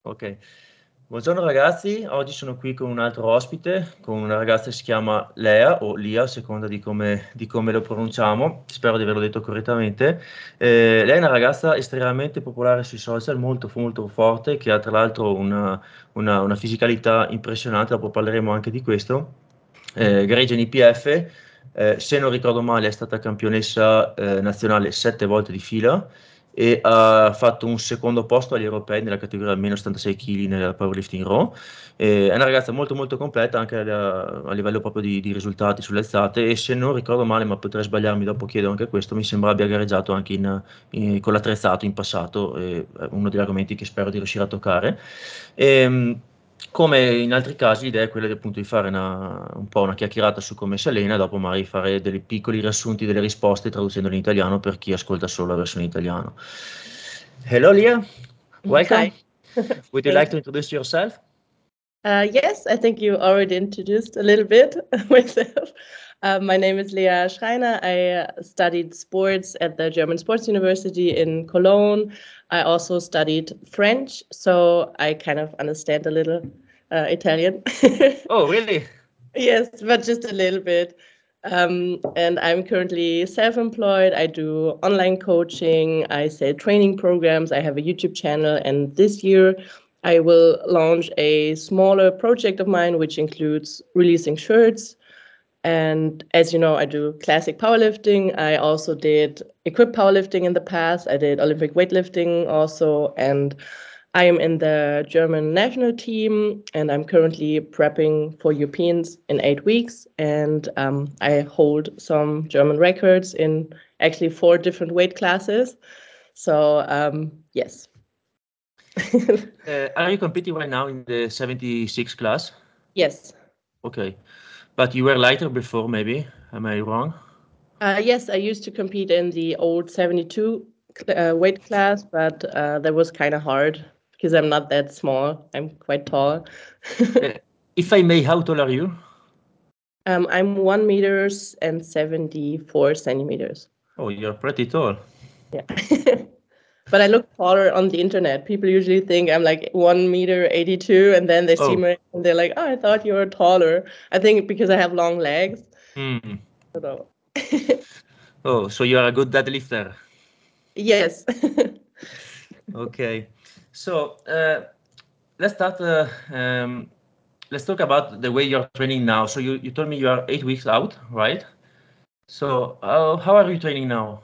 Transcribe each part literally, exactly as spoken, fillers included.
Ok, buongiorno ragazzi, oggi sono qui con un altro ospite, con una ragazza che si chiama Lea o Lia, a seconda di come, di come lo pronunciamo, spero di averlo detto correttamente. Eh, lei è una ragazza estremamente popolare sui social, molto, molto forte, che ha tra l'altro una, una, una fisicalità impressionante, dopo parleremo anche di questo. Eh, gareggia in I P F, eh, se non ricordo male è stata campionessa eh, nazionale sette volte di fila e ha fatto un secondo posto agli europei nella categoria meno settantasei chili nella powerlifting raw. E è una ragazza molto molto completa anche a, a livello proprio di, di risultati sulle alzate e se non ricordo male, ma potrei sbagliarmi, dopo chiedo anche questo, mi sembra abbia gareggiato anche in, in- con l'attrezzato in passato, e è uno degli argomenti che spero di riuscire a toccare. E, come in altri casi, l'idea è quella di, appunto, di fare una, un po' una chiacchierata su come si allena, dopo magari fare dei piccoli riassunti delle risposte traducendole in italiano per chi ascolta solo la versione italiana. Hello, Leah. Welcome. Hi. Would you like Thanks. to introduce yourself? Uh, yes, I think you already introduced a little bit myself. Uh, my name is Lea Schreiner. I uh, studied sports at the German Sports University in Cologne. I also studied French, so I kind of understand a little uh, Italian. Oh, really? Yes, but just a little bit. Um, and I'm currently self-employed. I do online coaching. I sell training programs. I have a YouTube channel. And this year, I will launch a smaller project of mine, which includes releasing shirts. And as you know, I do classic powerlifting. I also did equipped powerlifting in the past. I did Olympic weightlifting also. And I am in the German national team, and I'm currently prepping for Europeans in eight weeks. And um, I hold some German records in actually four different weight classes. So um, yes. Uh, are you competing right now in the seventy-six class? Yes. Okay. But you were lighter before, maybe. Am I wrong? Uh, yes, I used to compete in the old seventy-two uh, weight class, but uh, that was kind of hard because I'm not that small. I'm quite tall. Uh, if I may, how tall are you? um, I'm one meters and seventy-four centimeters. Oh, you're pretty tall. Yeah. But I look taller on the internet. People usually think I'm like one meter eighty-two, and then they see Oh, me and they're like, "Oh, I thought you were taller." I think because I have long legs. hmm. I don't know. Oh, so you are a good deadlifter. Yes. Okay. So uh, let's start. Uh, um, let's talk about the way you're training now. So you, you told me you are eight weeks out, right? So uh, how are you training now?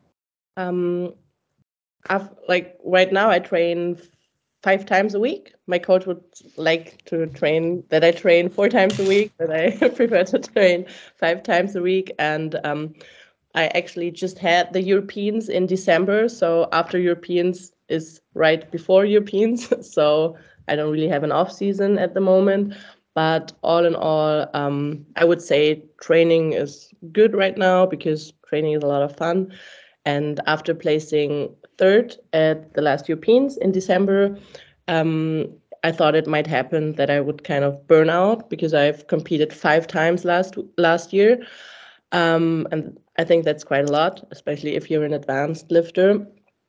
um, I've like right now I train five times a week. My coach would like to train that I train four times a week, but I prefer to train five times a week. And um, I actually just had the Europeans in December, so after Europeans is right before Europeans, so I don't really have an off season at the moment. But all in all, um, I would say training is good right now because training is a lot of fun. And after placing third at the last Europeans in December, um, I thought it might happen that I would kind of burn out because I've competed five times last last year, um, and I think that's quite a lot, especially if you're an advanced lifter.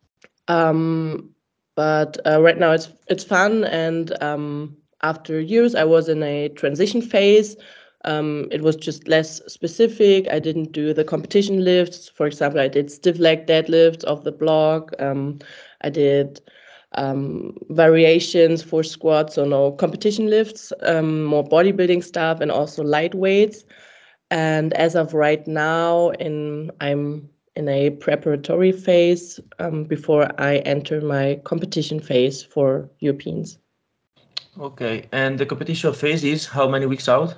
Um, but uh, right now it's it's fun, and um, after years, I was in a transition phase. Um, it was just less specific. I didn't do the competition lifts. For example, I did stiff leg deadlifts off the block. Um, I did um, variations for squats, so no competition lifts, um, more bodybuilding stuff, and also light weights. And as of right now, in I'm in a preparatory phase um, before I enter my competition phase for Europeans. Okay. And the competition phase is how many weeks out?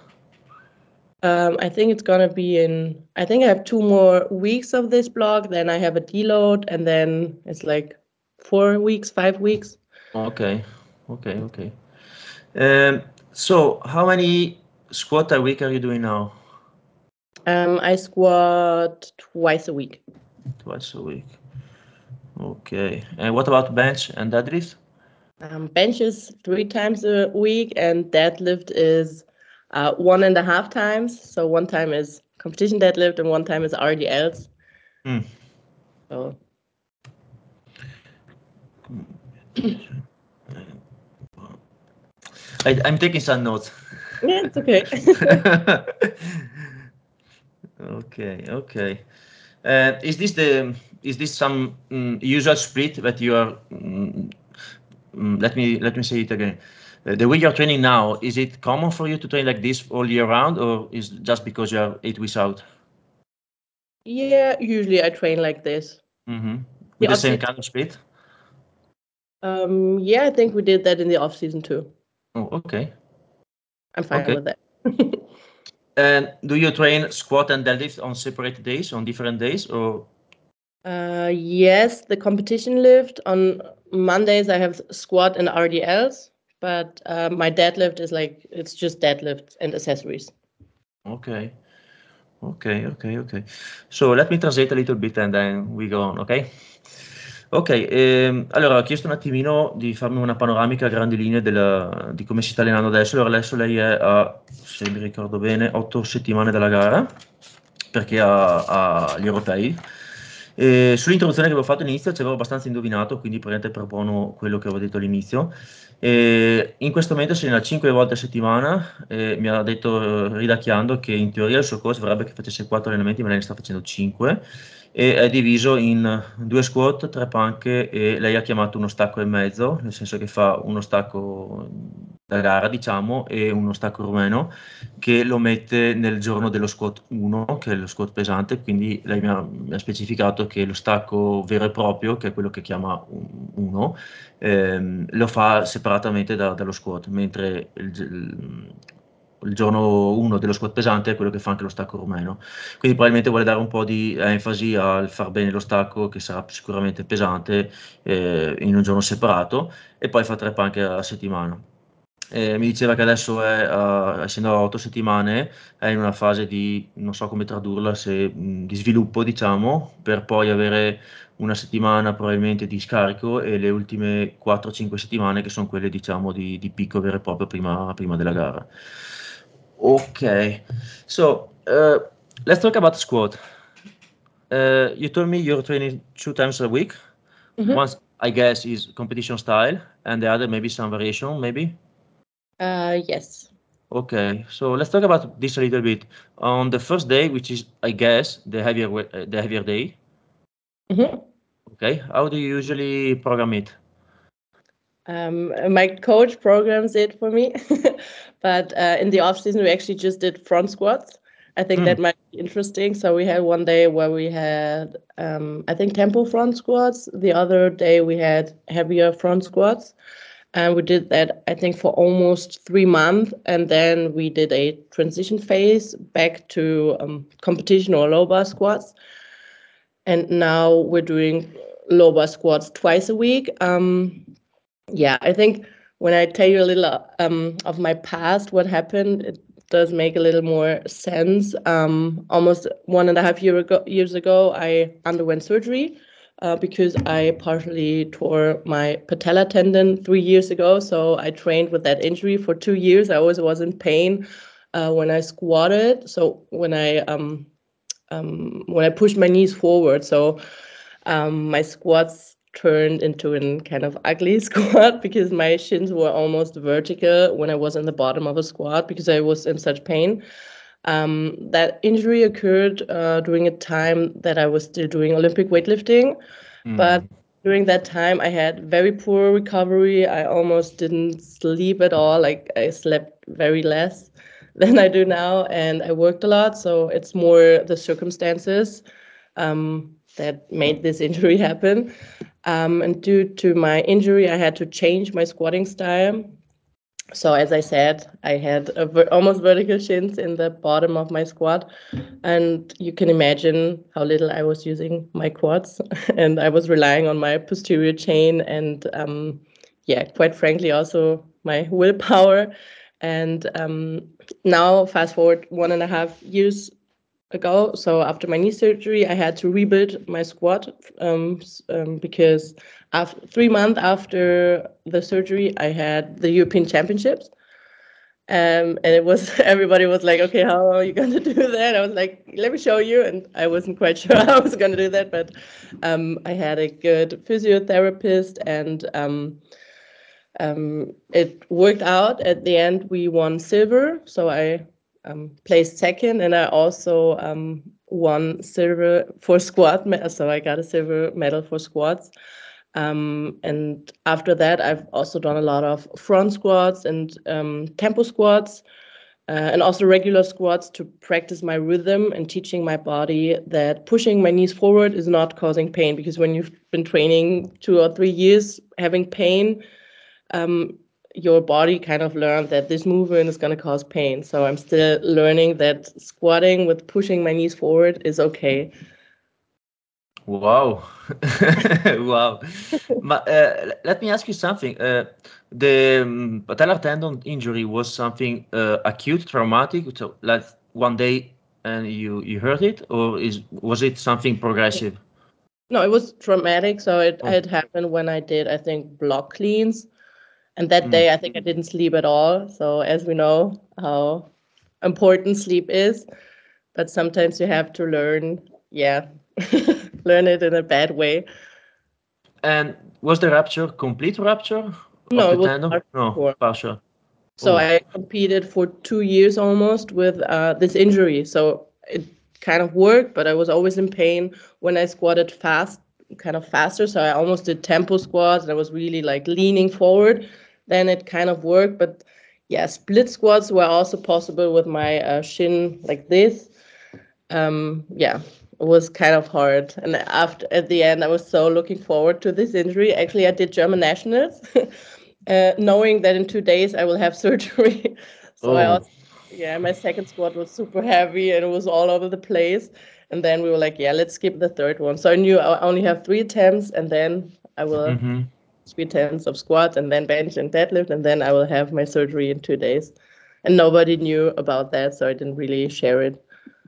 Um, I think it's gonna be in. I think I have two more weeks of this block. Then I have a deload, and then it's like four weeks, five weeks. Okay. Okay. Okay. Um, so how many squat a week are you doing now? Um, I squat twice a week. Twice a week. Okay. And what about bench and deadlift? Um, bench is three times a week, and deadlift is uh, one and a half times. So one time is competition deadlift, and one time is R D Ls. Hmm. So I, I'm taking some notes. Yeah, it's okay. Okay, okay. Uh, is this the is this some um, usual split that you are? Um, um, let me let me say it again. Uh, the way you're training now, is it common for you to train like this all year round, or is it just because you are eight weeks out? Yeah, usually I train like this. Mm-hmm. The With the off same season, kind of split? um, yeah, I think we did that in the off season too. Oh, okay, I'm fine okay. with that. And do you train squat and deadlift on separate days, on different days, or? Uh, yes, the competition lift on Mondays I have squat and R D Ls, but uh, my deadlift is like it's just deadlifts and accessories. Okay, okay, okay, okay. So let me translate a little bit and then we go on, okay? Ok, ehm, allora ho chiesto un attimino di farmi una panoramica a grandi linee della- di come si sta allenando adesso. Allora adesso lei è a, se mi ricordo bene, otto settimane dalla gara, perché ha, ha gli europei. E sull'introduzione che avevo fatto all'inizio ci avevo abbastanza indovinato, quindi praticamente propono quello che avevo detto all'inizio. E in questo momento si allena cinque volte a settimana e mi ha detto eh, ridacchiando che in teoria il suo coach vorrebbe che facesse quattro allenamenti, ma lei ne sta facendo cinque e è diviso in due squat, tre panche e lei ha chiamato uno stacco e mezzo, nel senso che fa uno stacco da gara, diciamo, e uno stacco rumeno che lo mette nel giorno dello squat uno, che è lo squat pesante, quindi lei mi ha, mi ha specificato che lo stacco vero e proprio, che è quello che chiama uno, ehm, lo fa separatamente da- dallo squat, mentre il, il- il giorno uno dello squat pesante è quello che fa anche lo stacco rumeno. Quindi probabilmente vuole dare un po' di enfasi al far bene lo stacco, che sarà sicuramente pesante, eh, in un giorno separato, e poi fa tre panche a settimana. Eh, mi diceva che adesso è, a- essendo a otto settimane, è in una fase di, non so come tradurla, se, mh, di sviluppo, diciamo, per poi avere una settimana probabilmente di scarico e le ultime quattro cinque settimane che sono quelle, diciamo, di, di picco vero e proprio prima, prima della gara. Ok, so uh, let's talk about the squat. Uh, you told me you're training two times a week. Mhm. Once, I guess, is competition style, and the other maybe some variation, maybe. Uh, yes. Okay, so let's talk about this a little bit. On the first day, which is, I guess, the heavier wa- uh, the heavier day. Mhm. Okay, how do you usually program it? Um, my coach programs it for me, but uh, in the off season we actually just did front squats. I think Mm, that might be interesting. So we had one day where we had, um, I think, tempo front squats. The other day we had heavier front squats, and we did that I think for almost three months, and then we did a transition phase back to um, competition or low bar squats, and now we're doing low bar squats twice a week. Um, yeah, I think when I tell you a little um, of my past, what happened, it does make a little more sense. Um, almost one and a half year ago, years ago, I underwent surgery uh, because I partially tore my patella tendon three years ago. So I trained with that injury for two years. I always was in pain uh, when I squatted. So when I um, um, when I pushed my knees forward, so um, my squats turned into a kind of ugly squat because my shins were almost vertical when I was in the bottom of a squat because I was in such pain. Um, that injury occurred uh, during a time that I was still doing Olympic weightlifting, but mm, during that time I had very poor recovery. I almost didn't sleep at all. Like I slept very less than I do now, and I worked a lot. So it's more the circumstances um, that made this injury happen. Um, and due to my injury, I had to change my squatting style. So as I said, I had a ver- almost vertical shins in the bottom of my squat, and you can imagine how little I was using my quads, and I was relying on my posterior chain and, um, yeah, quite frankly, also my willpower. And um, now, fast forward one and a half years ago. So after my knee surgery, I had to rebuild my squat um, um, because after three months after the surgery, I had the European Championships. Um, and it was everybody was like, okay, how are you going to do that? I was like, let me show you. And I wasn't quite sure how I was going to do that, but um, I had a good physiotherapist and um, Um, it worked out. At the end, we won silver, so I um, placed second, and I also um, won silver for squat. So I got a silver medal for squats. Um, and after that, I've also done a lot of front squats and um, tempo squats, uh, and also regular squats to practice my rhythm and teaching my body that pushing my knees forward is not causing pain. Because when you've been training two or three years having pain, um, your body kind of learned that this movement is going to cause pain. So I'm still learning that squatting with pushing my knees forward is okay. Wow. Wow. Ma, uh, let me ask you something. Uh, the um, patellar tendon injury was something uh, acute, traumatic, so like one day and you you hurt it, or is was it something progressive? No, it was traumatic. So it Oh. had happened when I did, I think, block cleans. And that Mm. day, I think I didn't sleep at all. So as we know how important sleep is, but sometimes you have to learn, yeah, learn it in a bad way. And was the rupture complete rupture of No, the it was tendon? No, hardcore. partial. So Oh. I competed for two years almost with uh, this injury. So it kind of worked, but I was always in pain when I squatted fast, kind of faster. So I almost did tempo squats and I was really like leaning forward. Then it kind of worked. But yeah, split squats were also possible with my uh, shin like this. Um, yeah, it was kind of hard. And after at the end, I was so looking forward to this injury. Actually, I did German nationals, uh, knowing that in two days I will have surgery. So I Oh. also, yeah, my second squat was super heavy and it was all over the place. And then we were like, yeah, let's skip the third one. So I knew I only have three attempts, and then I will Mm-hmm. three attempts of squat and then bench and deadlift, and then I will have my surgery in two days. And nobody knew about that, so I didn't really share it.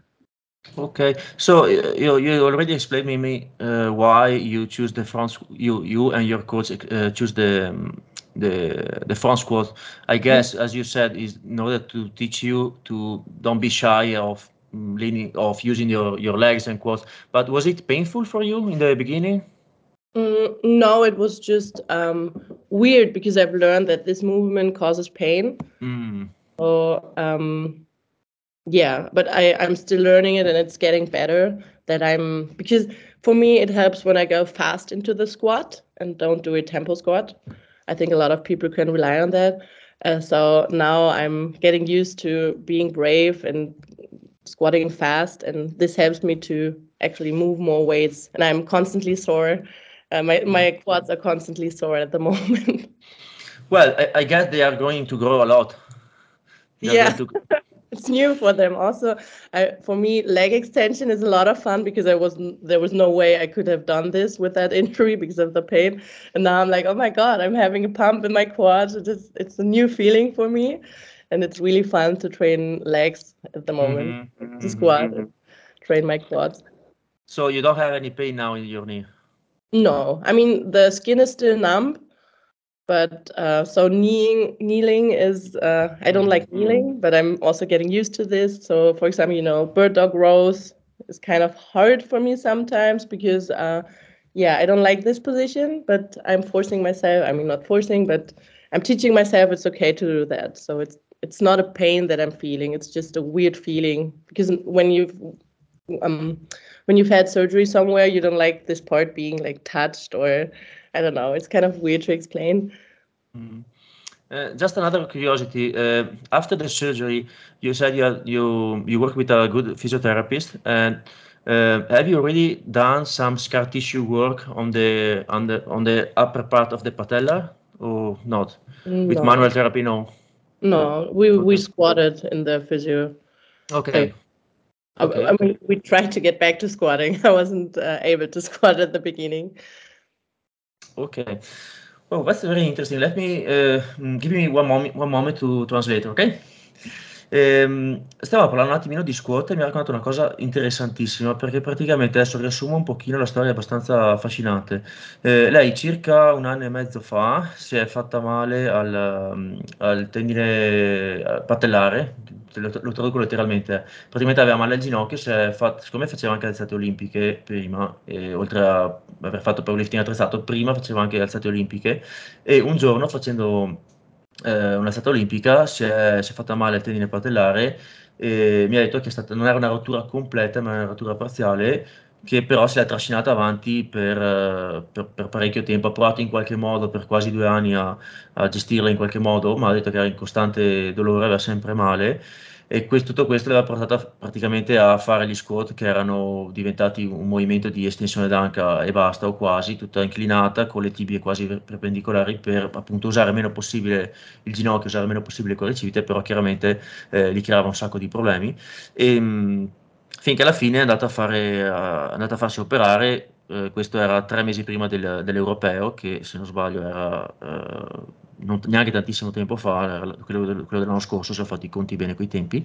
Okay, so uh, you you already explained me me uh, why you choose the front squ- you you and your coach uh, choose the um, the the front squat. I guess, as you said, is in order to teach you to don't be shy of mm, leaning of using your your legs and quads. But was it painful for you in the beginning? Mm, no, it was just um, weird because I've learned that this movement causes pain. Mm. So um, yeah, but I I'm still learning it and it's getting better. That I'm because for me it helps when I go fast into the squat and don't do a tempo squat. I think a lot of people can rely on that. Uh, so now I'm getting used to being brave and squatting fast, and this helps me to actually move more weights. And I'm constantly sore. Uh, my my quads are constantly sore at the moment. Well, I, I guess they are going to grow a lot. They are going Yeah. to. It's new for them. Also, I, for me, leg extension is a lot of fun because I wasn't there was no way I could have done this with that injury because of the pain. And now I'm like, oh my God, I'm having a pump in my quads. It's it's a new feeling for me, and it's really fun to train legs at the moment. Mhm, To mhm. squat and train my quads. So you don't have any pain now in your knee. No, I mean the skin is still numb, but uh, so kneeling kneeling is uh, I don't Mm. like kneeling, but I'm also getting used to this. So for example, you know, bird dog rows is kind of hard for me sometimes because uh, yeah, I don't like this position, but I'm forcing myself. I mean, not forcing, but I'm teaching myself it's okay to do that. So it's it's not a pain that I'm feeling. It's just a weird feeling because when you've um when you've had surgery somewhere, you don't like this part being like touched, or I don't know. It's kind of weird to explain. Mm. Uh, just another curiosity. Uh, after the surgery, you said you had- you you work with a good physiotherapist, and uh, have you already done some scar tissue work on the on the on the upper part of the patella, or not? With No, manual therapy, no. no. We we Okay. squatted in the physio. I, Okay. I, Okay. I Okay. mean, we tried to get back to squatting. I wasn't uh, able to squat at the beginning. Okay. Oh, that's very interesting. Let me uh, mm, give me one moment, one moment to translate, ok? Ehm, stiamo parlando un attimino di squat e mi ha raccontato una cosa interessantissima perché praticamente adesso riassumo un pochino la storia abbastanza affascinante. Eh, lei circa un anno e mezzo fa si è fatta male al, mm, al tendine eh, patellare, lo, lo traduco letteralmente, praticamente aveva male al ginocchio, si è fatto, siccome faceva anche alzate olimpiche prima, e oltre a aver fatto powerlifting attrezzato, prima faceva anche alzate olimpiche, e un giorno facendo eh, un'alzata olimpica si è, si è fatta male al tendine patellare, e mi ha detto che è stata, non era una rottura completa, ma una rottura parziale, che però si è trascinata avanti per, eh, per- per parecchio tempo. Ha provato in qualche modo per quasi due anni a, a gestirla in qualche modo, ma ha detto che era in costante dolore, aveva sempre male. E que- tutto questo l'aveva portata praticamente a fare gli squat, che erano diventati un movimento di estensione d'anca e basta, o quasi, tutta inclinata, con le tibie quasi per- perpendicolari, per appunto usare meno possibile il ginocchio, usare meno possibile il quadricipite, però chiaramente eh, gli creava un sacco di problemi. E, mh, finché alla fine è andata a fare, a- è andata a farsi operare. Eh, questo era tre mesi prima del- dell'Europeo, che se non sbaglio era eh, non- neanche tantissimo tempo fa, era quello, del- quello dell'anno scorso, se ho fatto i conti bene coi tempi.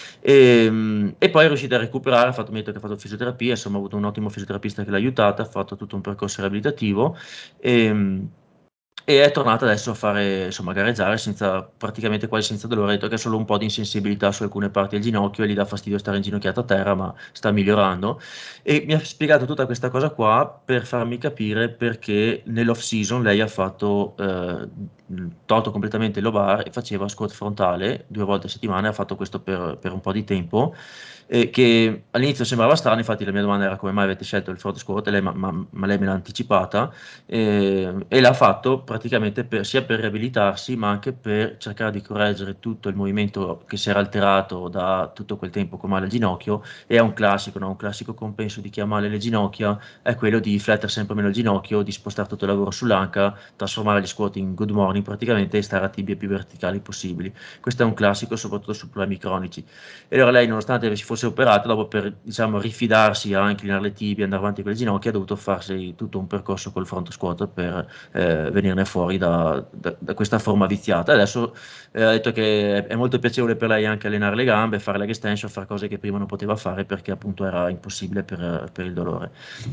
E, mh, e poi è riuscita a recuperare, ha fatto, mi ha detto che ha fatto fisioterapia, insomma ha avuto un ottimo fisioterapista che l'ha aiutata, ha fatto tutto un percorso riabilitativo. E, mh, e è tornata adesso a fare, insomma, a gareggiare senza, praticamente quasi senza dolore. Ha detto che ha solo un po' di insensibilità su alcune parti del ginocchio e gli dà fastidio stare inginocchiata a terra, ma sta migliorando. E mi ha spiegato tutta questa cosa qua per farmi capire perché nell'off season lei ha fatto, eh, tolto completamente il lobar e faceva squat frontale due volte a settimana. Ha fatto questo per, per un po' di tempo, eh, che all'inizio sembrava strano. Infatti la mia domanda era come mai avete scelto il front squat, e lei, ma, ma- ma lei me l'ha anticipata, eh, e l'ha fatto praticamente per- sia per riabilitarsi, ma anche per cercare di correggere tutto il movimento che si era alterato da tutto quel tempo con male al ginocchio. E è un classico, no? Un classico compenso di chi ha male le ginocchia è quello di flettere sempre meno il ginocchio, di spostare tutto il lavoro sull'anca, trasformare gli squat in good morning praticamente, e stare a tibie più verticali possibili. Questo è un classico, soprattutto su problemi cronici. E allora lei, nonostante si fosse operata, dopo, per, diciamo, rifidarsi a inclinare le tibie, andare avanti con le ginocchia, ha dovuto farsi tutto un percorso col front squat per eh, venirne fuori da, da- da questa forma viziata. Adesso eh, ha detto che è, è molto piacevole per lei anche allenare le gambe, fare leg extension, fare cose che prima non poteva fare perché appunto era impossibile per, per il dolore.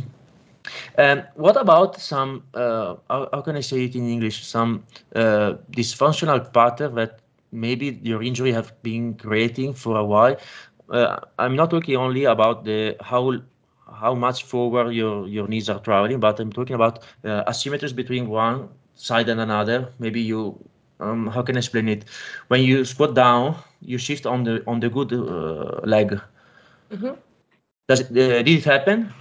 Um, what about some, uh, how, how can I say it in English, some uh, dysfunctional pattern that maybe your injury have been creating for a while? Uh, I'm not talking only about the how how much forward your your knees are traveling, but I'm talking about uh, asymmetries between one side and another. Maybe you, um, how can I explain it? When you squat down, you shift on the on the good uh, leg. Mhm. Does it, uh, did it happen?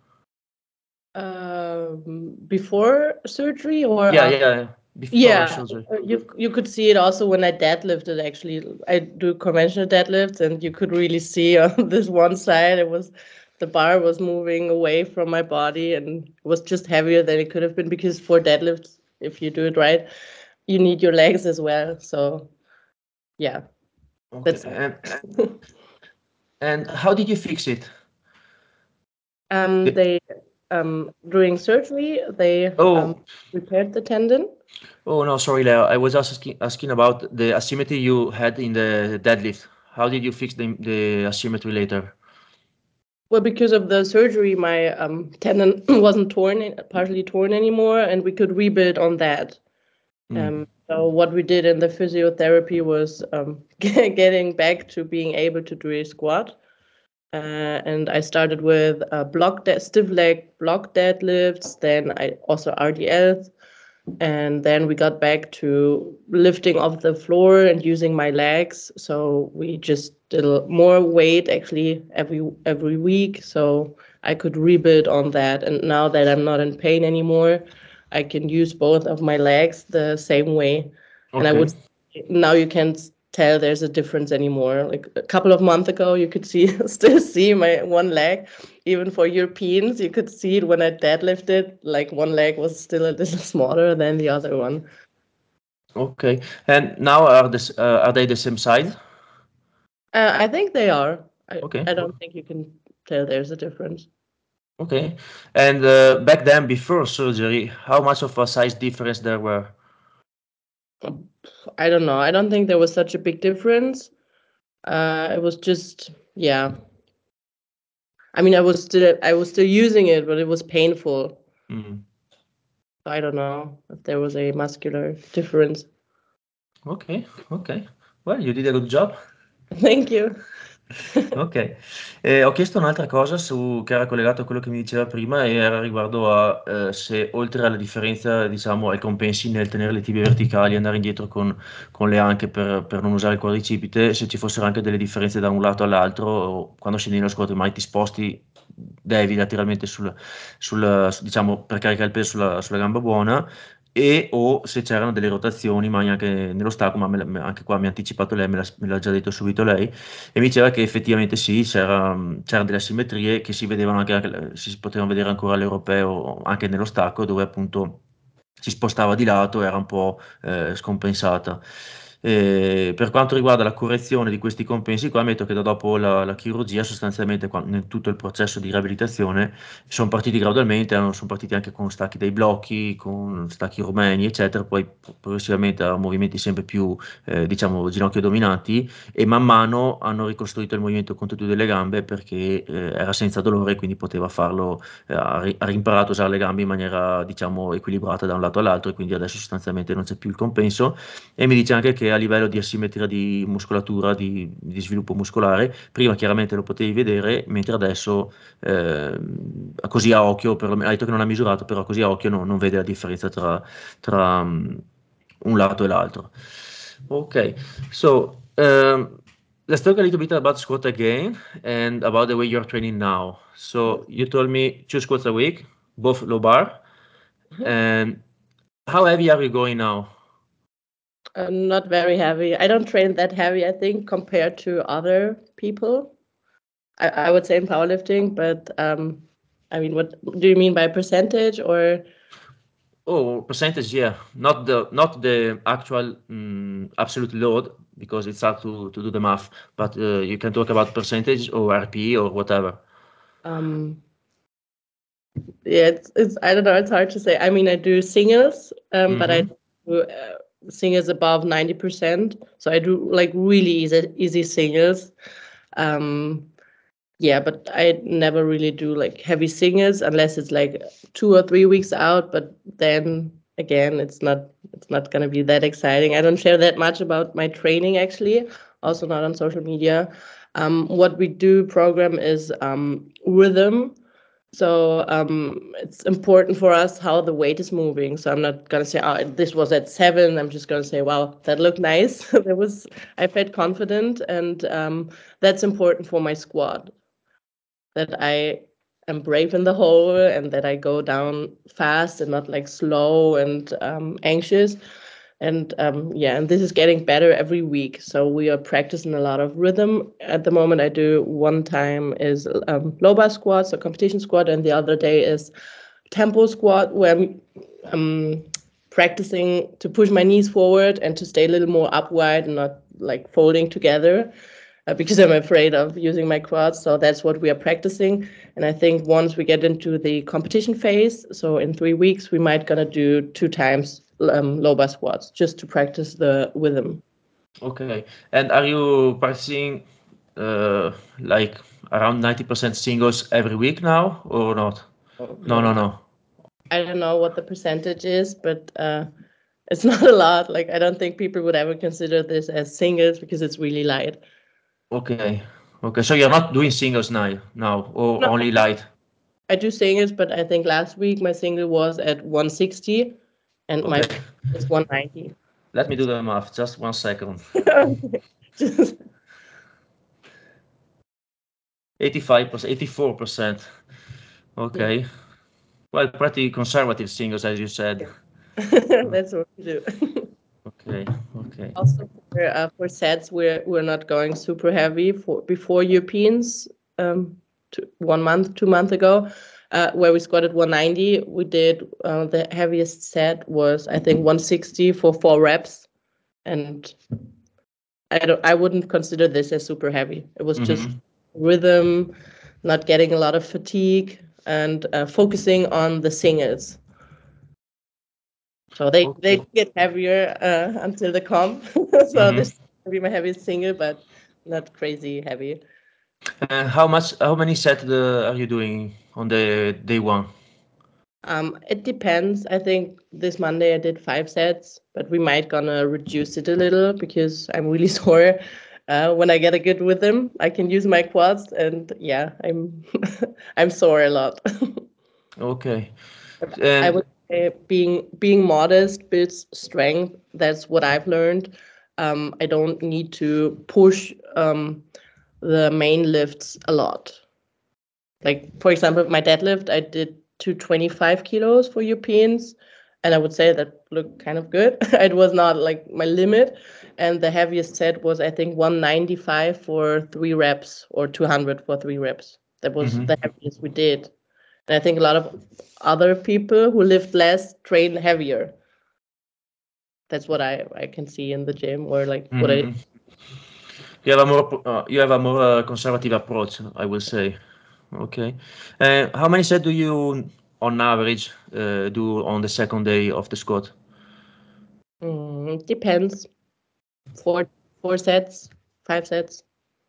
Um, before surgery or Yeah, after? yeah, before Yeah, surgery. uh, you you could see it also when I deadlifted. Actually, I do conventional deadlifts, and you could really see on this one side it was the bar was moving away from my body, and it was just heavier than it could have been, because for deadlifts, if you do it right, you need your legs as well. So yeah, Okay, that's and and how did you fix it? um The- they um during surgery they um oh, repaired the tendon. oh no, sorry, Leo. I was asking asking about the asymmetry you had in the deadlift. How did you fix the the asymmetry later? Well, because of the surgery, my um, tendon wasn't torn, partially torn anymore, and we could rebuild on that. Mm. Um, so what we did in the physiotherapy was um, getting back to being able to do a squat. Uh, and I started with uh, block de- stiff leg block deadlifts, then I also R D Ls, and then we got back to lifting off the floor and using my legs. So we just did a- more weight actually every every week, so I could rebuild on that. And now that I'm not in pain anymore, I can use both of my legs the same way. And I Okay. would now you can't tell there's a difference anymore. Like a couple of months ago, you could see still see my one leg. Even for Europeans, you could see it when I deadlifted. Like one leg was still a little smaller than the other one. Okay. And now are this uh, are they the same size? Uh, I think they are. I Okay. I don't think you can tell there's a difference. Okay. And uh, back then, before surgery, how much of a size difference there were? I don't know. I don't think there was such a big difference. Uh, it was just, yeah. I mean, I was still I was still using it, but it was painful. Mm. I don't know if there was a muscular difference. Okay. Okay. Well, you did a good job. Thank you. Ok, eh, ho chiesto un'altra cosa su, che era collegato a quello che mi diceva prima e era riguardo a eh, se oltre alla differenza, diciamo, ai compensi nel tenere le tibie verticali e andare indietro con, con le anche per, per non usare il quadricipite, se ci fossero anche delle differenze da un lato all'altro, o quando scendi nello squat mai ti sposti, devi lateralmente sul, sul, diciamo, per caricare il peso sulla, sulla gamba buona, e o se c'erano delle rotazioni, ma anche nello stacco, ma me la- anche qua mi ha anticipato lei, me l'ha me l'ha già detto subito lei, e mi diceva che effettivamente sì, c'era, c'erano delle asimmetrie che si vedevano anche, anche- si potevano vedere ancora all'europeo, anche nello stacco, dove appunto si spostava di lato, era un po' eh, scompensata. E per quanto riguarda la correzione di questi compensi, qua ammetto che da dopo la, la chirurgia, sostanzialmente qua- nel tutto il processo di riabilitazione, sono partiti gradualmente, hanno- sono partiti anche con stacchi dai blocchi, con stacchi rumeni, eccetera, poi progressivamente a movimenti sempre più, eh, diciamo, ginocchio dominanti, e man mano hanno ricostruito il movimento con tutte e due le gambe perché eh, era senza dolore, quindi poteva farlo, eh, ha, ri- ha rimparato a usare le gambe in maniera, diciamo, equilibrata da un lato all'altro, e quindi adesso sostanzialmente non c'è più il compenso. E mi dice anche che a livello di asimmetria di muscolatura, di, di sviluppo muscolare, prima chiaramente lo potevi vedere, mentre adesso eh, così a occhio, perlomeno, ha detto che non ha misurato, però così a occhio no- non vede la differenza tra, tra um, un lato e l'altro. Ok, so um, let's talk a little bit about squat again and about the way you're training now. So you told me two squats a week, both low bar, and how heavy are you going now? Uh, not very heavy. I don't train that heavy, I think, compared to other people. I, I would say in powerlifting, but um, I mean, what do you mean by percentage or? Oh, percentage, yeah. Not the not the actual mm, absolute load because it's hard to, to do the math, but uh, you can talk about percentage or R P E or whatever. Um, yeah, it's, it's I don't know. It's hard to say. I mean, I do singles, um, but I Mm-hmm. do uh, singles above ninety percent. So I do like really easy easy singles. Um, yeah, but I never really do like heavy singles unless it's like two or three weeks out. But then again, it's not it's not gonna be that exciting. I don't share that much about my training actually, also not on social media. Um, what we do program is um, rhythm. So um, it's important for us how the weight is moving. So I'm not gonna say, oh, this was at seven. I'm just gonna say, wow, that looked nice. There was, I felt confident, and um, that's important for my squad. That I am brave in the hole and that I go down fast and not like slow and um, anxious. And um, yeah, and this is getting better every week. So we are practicing a lot of rhythm. At the moment, I do one time is um, low bar squat, so competition squat, and the other day is tempo squat, where I'm um, practicing to push my knees forward and to stay a little more upright and not like folding together. Uh, because I'm afraid of using my quads. So that's what we are practicing. And I think once we get into the competition phase, so in three weeks, we might gonna do two times um, low bar squats just to practice the rhythm. Okay. And are you practicing uh, like around ninety percent singles every week now or not? Oh, No, no, no, I, no. I don't know what the percentage is, but uh, it's not a lot. Like I don't think people would ever consider this as singles because it's really light. Okay. Okay. So you're not doing singles now, now or No, only light? I do singles, but I think last week my single was at one sixty and my Okay. is one ninety. Let me do the math. Just one second. Just eighty-five percent, eighty-four percent. yeah. Okay. Well, pretty conservative singles, as you said. That's what we do. Okay. Okay. Also for uh, for sets, we're we're not going super heavy for before Europeans. Um, two, one month, two months ago, uh, where we squatted one ninety. We did uh, the heaviest set was I think one sixty for four reps, and I don't I wouldn't consider this as super heavy. It was just Mm-hmm. rhythm, not getting a lot of fatigue, and uh, focusing on the singles. So they they Okay. get heavier uh, until the comp. So Mm-hmm. this will be my heaviest single, but not crazy heavy. And how much, how many sets uh, are you doing on the day one? Um, it depends. I think this Monday I did five sets, but we might gonna reduce it a little because I'm really sore. uh, when I get a good rhythm, I can use my quads, and yeah, I'm I'm sore a lot. Okay. But I And would say being being modest builds strength. That's what I've learned. Um, I don't need to push um, the main lifts a lot. Like for example, my deadlift, I did two hundred twenty-five kilos for Europeans, and I would say that looked kind of good. It was not like my limit, and the heaviest set was I think one ninety-five for three reps or two hundred for three reps. That was mhm. the heaviest we did. And I think a lot of other people who lift less train heavier. That's what I I can see in the gym, or like what I. Mhm. You have a more uh, you have a more uh, conservative approach, I will say. Okay. Uh, how many sets do you, on average, uh, do on the second day of the squat? Mm, depends. Four four sets, five sets.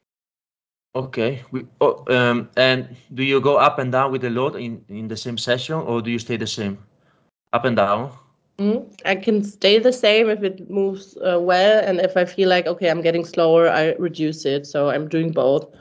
Okay. We, oh, um, and do you go up and down with the load in in the same session, or do you stay the same? Up and down? Mm, I can stay the same if it moves uh, well, and if I feel like okay, I'm getting slower, I reduce it. So I'm doing both.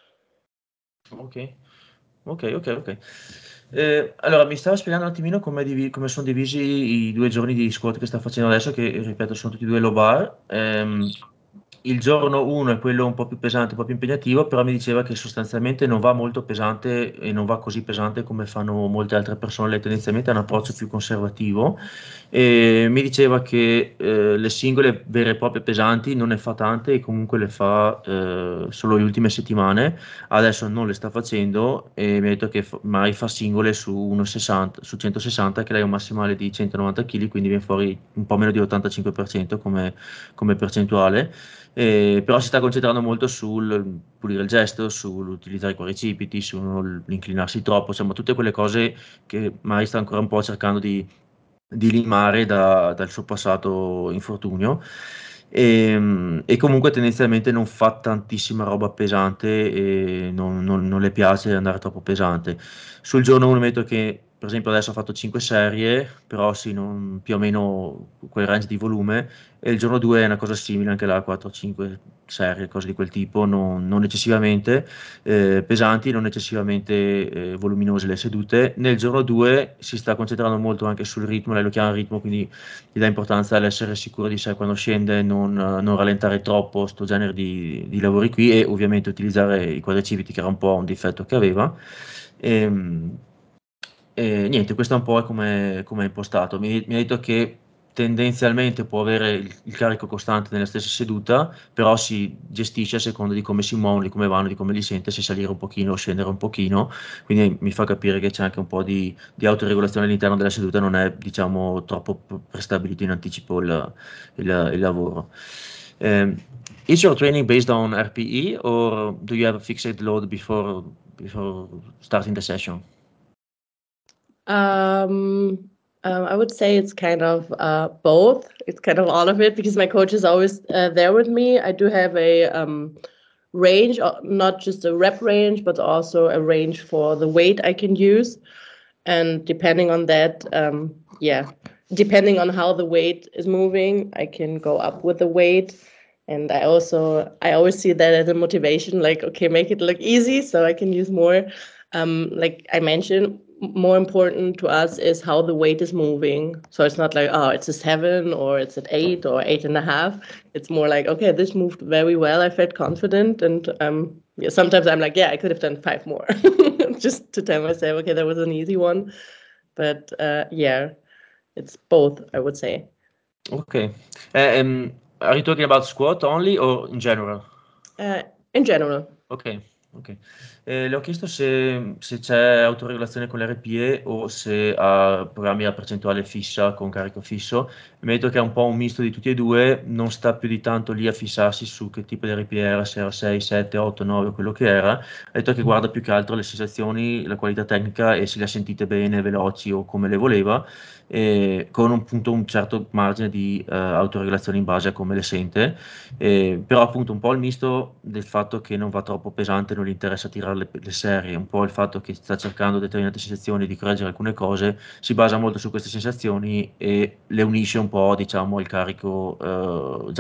Ok, ok, ok, ok. Eh, allora, mi stava spiegando un attimino come, divi- come sono divisi i due giorni di squat che sta facendo adesso, che ripeto sono tutti e due low bar. Ehm, il giorno uno è quello un po' più pesante, un po' più impegnativo, però mi diceva che sostanzialmente non va molto pesante e non va così pesante come fanno molte altre persone. Lei tendenzialmente ha un approccio più conservativo e mi diceva che eh, le singole vere e proprie pesanti non ne fa tante e comunque le fa eh, solo le ultime settimane. Adesso non le sta facendo e mi ha detto che fa- mai fa singole su uno virgola sessanta, su centosessanta, che lei ha un massimale di centonovanta chili, quindi viene fuori un po' meno di ottantacinque per cento come, come percentuale. Eh, però si sta concentrando molto sul pulire il gesto, sull'utilizzare i quadricipiti, sull'inclinarsi troppo, insomma tutte quelle cose che Mari sta ancora un po' cercando di, di limare da- dal suo passato infortunio. E, e comunque tendenzialmente non fa tantissima roba pesante e non, non- non le piace andare troppo pesante. Sul giorno uno metto che, per esempio, adesso ha fatto cinque serie, però sì, non- più o meno quel range di volume, e il giorno due è una cosa simile, anche là, quattro cinque serie, cose di quel tipo, non, non eccessivamente eh, pesanti, non eccessivamente eh, voluminose le sedute. Nel giorno due si sta concentrando molto anche sul ritmo, lei lo chiama ritmo, quindi gli dà importanza all'essere sicuro di sé quando scende, non, non rallentare troppo sto genere di, di lavori qui e ovviamente utilizzare i quadricipiti, che era un po' un difetto che aveva. E, e niente, questo è un po' come come è impostato. Mi, mi ha detto che tendenzialmente può avere il, il carico costante nella stessa seduta, però si gestisce a seconda di come si muovono, di come vanno, di come li sente, se salire un pochino o scendere un pochino. Quindi mi fa capire che c'è anche un po' di, di autoregolazione all'interno della seduta, non è, diciamo, troppo p- prestabilito in anticipo il, il- il lavoro. Um, is your training based on R P E or do you have a fixed load before before starting the session? Um, um, I would say it's kind of uh, both. It's kind of all of it because my coach is always uh, there with me. I do have a um, range, uh, not just a rep range, but also a range for the weight I can use. And depending on that, um, yeah, depending on how the weight is moving, I can go up with the weight. And I also, I always see that as a motivation, like, okay, make it look easy so I can use more. Um, like I mentioned, m- more important to us is how the weight is moving. So it's not like, oh, it's a seven or it's at eight or eight and a half. It's more like, okay, this moved very well. I felt confident. And um, yeah, sometimes I'm like, yeah, I could have done five more just to tell myself, okay, that was an easy one. But uh, yeah, it's both, I would say. Okay. Uh, um, are you talking about squat only or in general? Uh, in general. Ok, ok. Eh, le ho chiesto se, se c'è autoregolazione con l'R P E o se ha programmi a percentuale fissa con carico fisso. Mi ha detto che è un po' un misto di tutti e due, non sta più di tanto lì a fissarsi su che tipo di R P E era, se era sei, sette, otto, nove, quello che era. Ha detto che guarda più che altro le sensazioni, la qualità tecnica e se le ha sentite bene, veloci o come le voleva, e con un, appunto, un certo margine di eh, autoregolazione in base a come le sente. Eh, però appunto un po' il misto del fatto che non va troppo pesante, non gli interessa tirare le, le serie, un po' il fatto che sta cercando determinate sensazioni, di correggere alcune cose, si basa molto su queste sensazioni e le unisce un po', diciamo, al carico eh, già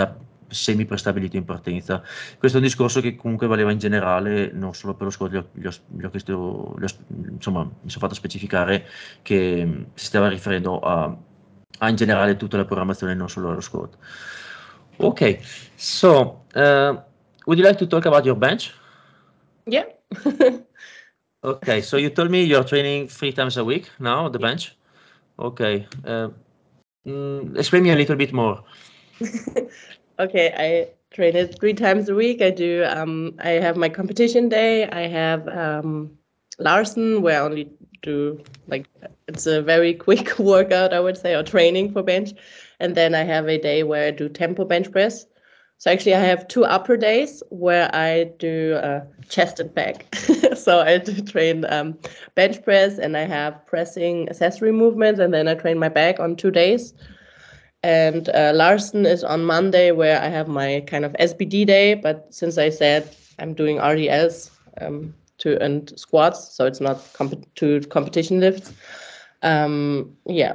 semi-prestabilito in partenza. Questo è un discorso che comunque valeva in generale, non solo per lo squat, gli ho, gli ho, gli ho chiesto, gli ho, insomma, mi sono fatto specificare che mh, si stava riferendo a, a in generale tutta la programmazione, non solo allo squat. Ok, so uh, would you like to talk about your bench? Yeah. Okay, so you told me you're training three times a week now on the Yeah. bench. Okay, uh, mm, explain me a little bit more. Okay, I train it three times a week. I do. Um, I have my competition day. I have um, Larson, where I only do like it's a very quick workout, I would say, or training for bench. And then I have a day where I do tempo bench press. So actually, I have two upper days where I do uh, chest and back. So I do train um, bench press, and I have pressing accessory movements, and then I train my back on two days. And uh, Larson is on Monday, where I have my kind of S B D day. But since I said I'm doing R D Ls um, to and squats, so it's not comp- to competition lifts. Um, yeah.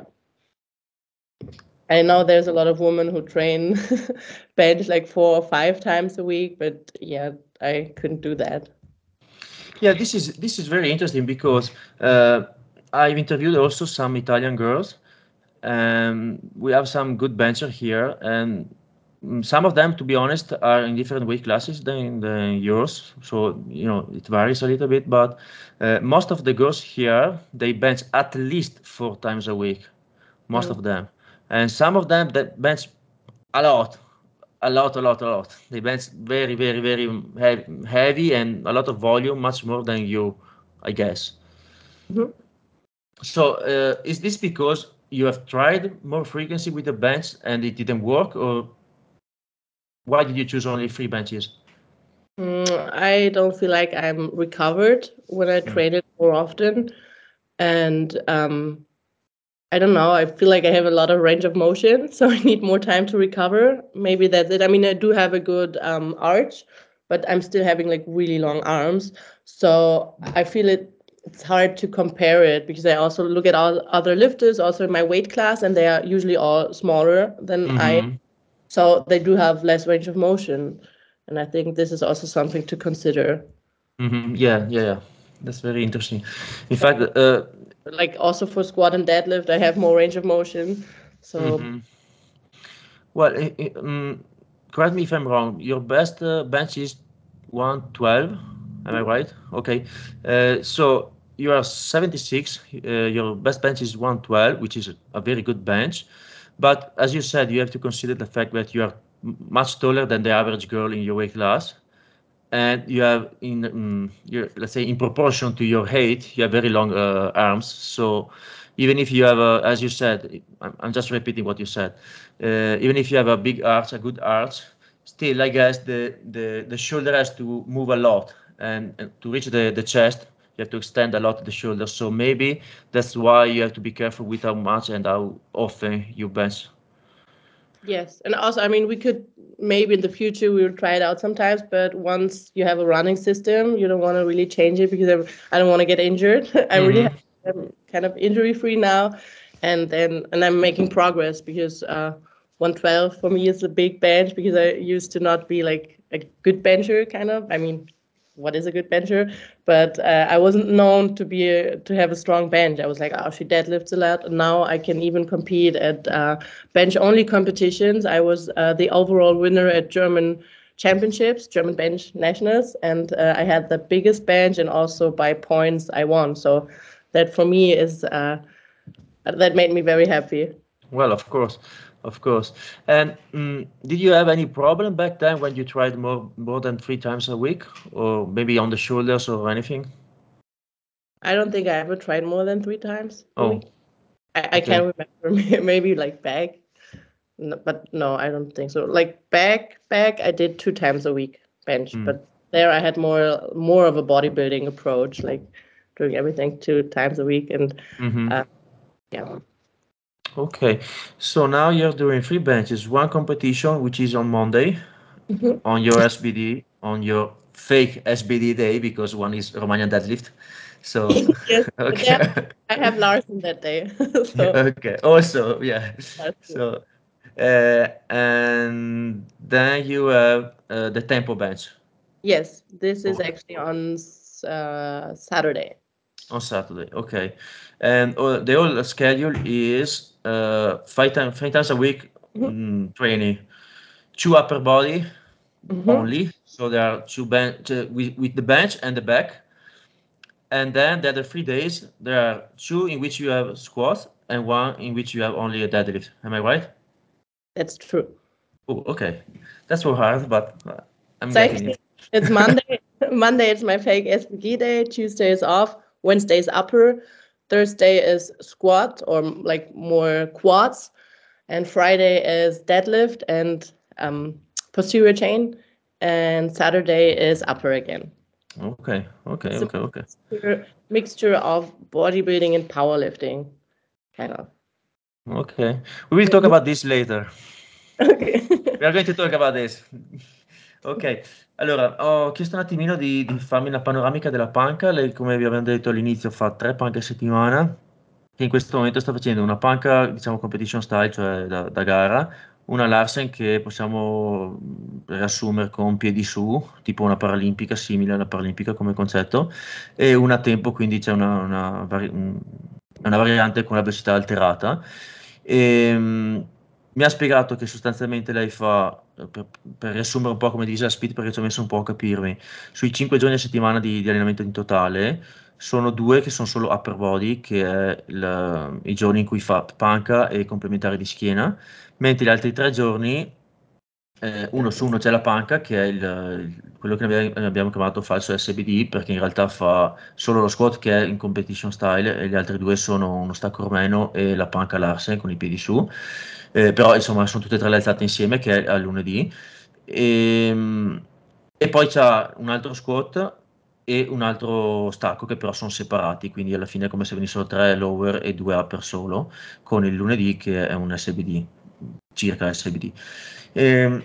I know there's a lot of women who train bench like four or five times a week, but yeah, I couldn't do that. Yeah, this is this is very interesting because uh, I've interviewed also some Italian girls. Um, we have some good benchers here, and mm, some of them, to be honest, are in different weight classes than the yours. So you know it varies a little bit, but uh, most of the girls here they bench at least four times a week, most Mm. of them, and some of them that bench a lot, a lot, a lot, a lot. They bench very, very, very heavy, heavy and a lot of volume, much more than you, I guess. Mhm. So, uh, is this because you have tried more frequency with the bench and it didn't work, or why did you choose only three benches? Mm, I don't feel like I'm recovered when I Mm. train it more often. And um, I don't know, I feel like I have a lot of range of motion, so I need more time to recover. Maybe that's it. I mean, I do have a good um, arch, but I'm still having like really long arms. So I feel it it's hard to compare it because I also look at all other lifters also in my weight class, and they are usually all smaller than I am. Mm-hmm. So they do have less range of motion. And I think this is also something to consider. Mm-hmm. Yeah, yeah, yeah. That's very interesting. In fact, uh, Like also for squat and deadlift, I have more range of motion. So mhm. Well, i- i- um, correct me if I'm wrong. Your best uh, bench is one twelve. Am I right? Okay. Uh, so you are seventy-six. Uh, your best bench is one twelve, which is a, a very good bench. But as you said, you have to consider the fact that you are m- much taller than the average girl in your weight class, and you have in um, your, let's say in proportion to your height, you have very long uh, arms. So even if you have a, as you said, I'm, I'm just repeating what you said, uh, even if you have a big arch, a good arch, still I guess the the, the shoulder has to move a lot, and, and to reach the, the chest you have to extend a lot the shoulder. So maybe that's why you have to be careful with how much and how often you bench. yes, and also, I mean, we could maybe in the future we will try it out sometimes, but once you have a running system, you don't want to really change it because I'm, I don't want to get injured. I'm really Mm-hmm. I'm kind of injury free now, and then and I'm making progress because uh, one twelve for me is a big bench because I used to not be like a good bencher, kind of. I mean, what is a good bencher? But uh, I wasn't known to be a, to have a strong bench. I was like, oh, she deadlifts a lot. And now I can even compete at uh, bench only competitions. I was uh, the overall winner at German championships, German bench nationals, and uh, I had the biggest bench, and also by points I won. So that for me is uh, that made me very happy. Well, of course, of course. And mm, did you have any problem back then when you tried more more than three times a week, or maybe on the shoulders or anything? I don't think I ever tried more than three times a Oh, week. I, I okay. can't remember. Maybe like back. No, but no, I don't think so. Like back, back, I did two times a week bench, Mm. but there I had more more of a bodybuilding approach, like doing everything two times a week, and Mm-hmm. uh, yeah. Okay. So now you're doing three benches, one competition which is on Monday Mhm. on your S B D, on your fake S B D day because one is Romanian deadlift. So Yes, but there okay. I have Larson that day, so Okay. Also, yeah. that's good. So Uh, and then you have uh, the tempo bench. Yes, this is Oh, actually on uh, Saturday. On Saturday, okay. And uh, the whole schedule is uh, five times five times a week Mhm. mm, training, two upper body Mhm. only. So there are two bench uh, with, with the bench and the back. And then the other three days, there are two in which you have squats and one in which you have only a deadlift. Am I right? That's true. Oh, okay. That's so hard, but uh, I'm It's getting actually it. it's Monday. Monday is my fake S P G day. Tuesday is off. Wednesday is upper. Thursday is squat or like more quads, and Friday is deadlift and um, posterior chain, and Saturday is upper again. Okay, okay, It's a okay, okay. mixture, mixture of bodybuilding and powerlifting, kind of. Okay. We will talk about this later. Okay. We are going to talk about this. Ok, allora ho chiesto un attimino di, di farmi una panoramica della panca. Lei, come vi abbiamo detto all'inizio, fa tre panche a settimana, che in questo momento sta facendo una panca, diciamo, competition style, cioè da, da gara, una Larsen che possiamo mh, riassumere con piedi su, tipo una paralimpica, simile alla paralimpica come concetto, e una tempo, quindi c'è una, una vari- un- una variante con la velocità alterata. E, mh, mi ha spiegato che sostanzialmente lei fa, eh, per, per riassumere un po' come divisa la split, perché ci ho messo un po' a capirmi, sui cinque giorni a settimana di, di allenamento in totale, sono due che sono solo upper body, che è il- i giorni in cui fa panca e complementare di schiena, mentre gli altri tre giorni, eh, uno su uno c'è la panca, che è il, il- quello che abbiamo, abbiamo chiamato falso S B D, perché in realtà fa solo lo squat che è in competition style e gli altri due sono uno stacco romeno e la panca Larsen con i piedi su. Eh, però insomma sono tutte e tre le alzate insieme, che è al lunedì. E, e poi c'ha un altro squat e un altro stacco che però sono separati, quindi alla fine è come se venissero tre lower e due upper solo, con il lunedì che è un S B D, circa S B D. E,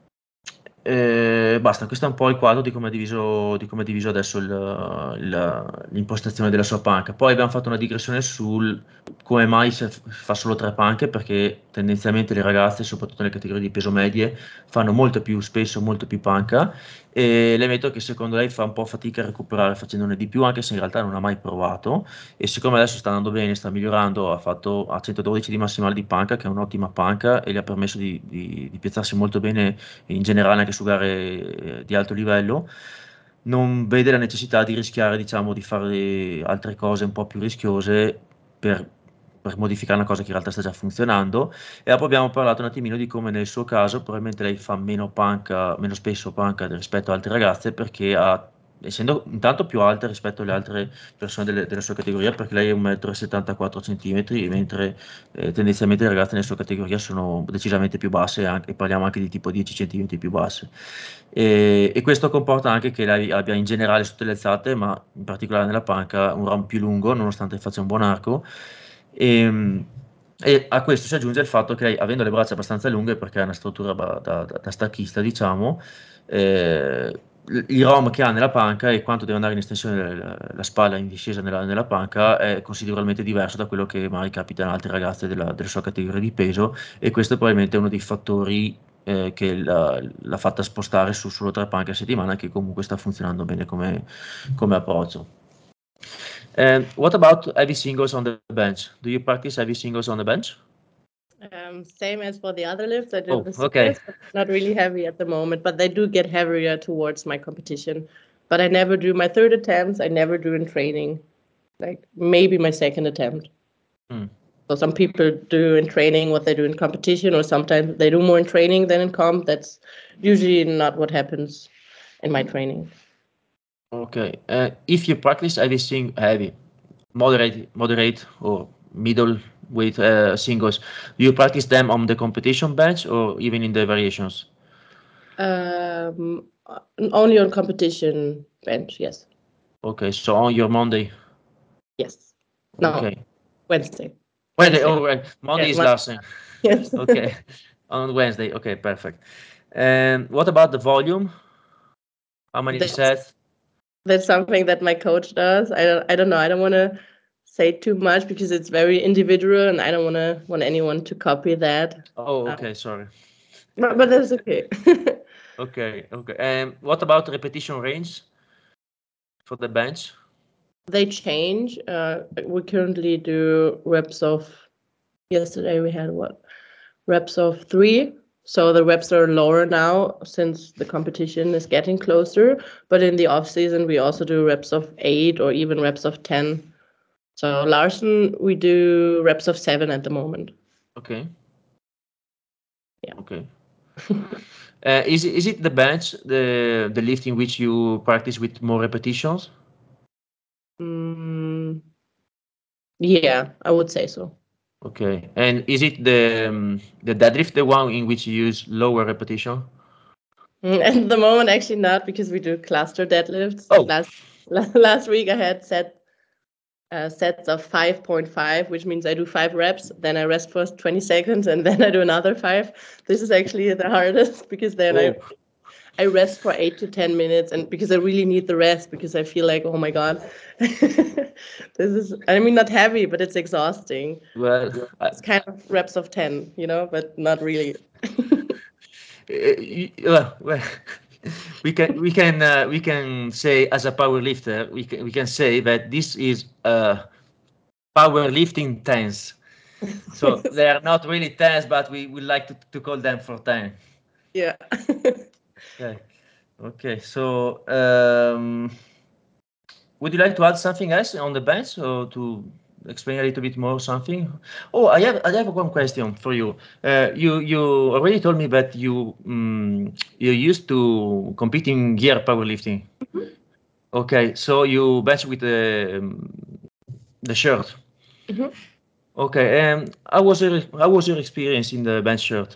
e basta, questo è un po' il quadro di come è diviso, di come è diviso adesso il- il- l'impostazione della sua panca. Poi abbiamo fatto una digressione sul come mai se f- fa solo tre panche, perché tendenzialmente le ragazze, soprattutto nelle categorie di peso medie, fanno molto più spesso, molto più panca, e le metto che secondo lei fa un po' fatica a recuperare facendone di più, anche se in realtà non ha mai provato, e siccome adesso sta andando bene, sta migliorando, ha fatto a centododici di massimale di panca, che è un'ottima panca, e gli ha permesso di, di, di piazzarsi molto bene in generale anche su gare eh, di alto livello, non vede la necessità di rischiare, diciamo, di fare altre cose un po' più rischiose per, per modificare una cosa che in realtà sta già funzionando. E dopo abbiamo parlato un attimino di come nel suo caso probabilmente lei fa meno panca, meno spesso panca rispetto ad altre ragazze, perché ha, essendo intanto più alta rispetto alle altre persone delle- della sua categoria, perché lei è un metro e settantaquattro centimetri, mentre eh, tendenzialmente le ragazze nella sua categoria sono decisamente più basse, anche- e parliamo anche di tipo dieci centimetri più basse. E, e questo comporta anche che lei abbia in generale sotto le alzate, ma in particolare nella panca, un round più lungo, nonostante faccia un buon arco. E, e a questo si aggiunge il fatto che lei, avendo le braccia abbastanza lunghe, perché ha una struttura ba- da, da- da stacchista, diciamo, eh, il ROM che ha nella panca e quanto deve andare in estensione la, la spalla in discesa nella, nella panca è considerevolmente diverso da quello che magari capita in altre ragazze della, della sua categoria di peso, e questo è probabilmente uno dei fattori eh, che l'ha, l'ha fatta spostare su solo tre panche a settimana, che comunque sta funzionando bene come, come approccio. And what about heavy singles on the bench? Do you practice heavy singles on the bench? Um, same as for the other lifts. I do Oh, the okay. singles, but not really heavy at the moment. But they do get heavier towards my competition. But I never do my third attempts. I never do in training. Like maybe my second attempt. Mm. So some people do in training what they do in competition, or sometimes they do more in training than in comp. That's usually not what happens in my training. Okay. Uh, if you practice heavy sing heavy, moderate, moderate or middle weight uh, singles, do you practice them on the competition bench or even in the variations? Um, only on competition bench. Yes. Okay, so on your Monday. Yes. No. Okay. Wednesday. Wednesday. Wednesday. Oh, right. Monday Yeah. is Mon- last thing. yes. Okay. On Wednesday. Okay, perfect. And what about the volume? How many That's sets? that's something that my coach does. I don't I don't know. I don't want to say too much because it's very individual, and I don't want to want anyone to copy that. Oh, Uh, okay, sorry. but, but that's okay. Okay, okay. And what about repetition range for the bench? They change. Uh, we currently do reps of. Yesterday we had what reps of three. So the reps are lower now since the competition is getting closer. But in the off season, we also do reps of eight or even reps of ten. So Larson, we do reps of seven at the moment. Okay. Yeah. Okay. Uh, is it, is it the bench, the the lift in which you practice with more repetitions? Mm, yeah, I would say so. Okay. And is it the um, the deadlift, the one in which you use lower repetition? Mm, At the moment, actually not because we do cluster deadlifts. Oh, Last last week I had set uh, sets of five point five, which means I do five reps, then I rest for twenty seconds, and then I do another five. This is actually the hardest because then I oh. I rest for eight to ten minutes, and because I really need the rest because I feel like, oh my god, this is, I mean, not heavy, but it's exhausting. Well, I, It's kind of reps of ten, you know, but not really. Uh, y- well, well, we can we can uh, we can say as a power lifter we can we can say that this is uh, powerlifting tense. So they are not really tense, but we would like to, to call them for ten. Yeah. Okay. Okay. So um, would you like to add something else on the bench or to explain a little bit more something? Oh, I have I have one question for you. Uh, you you already told me that you um, you used to compete in gear powerlifting. Okay, so you bench with the um, the shirt. Mhm. Okay, and how was your how was your experience in the bench shirt?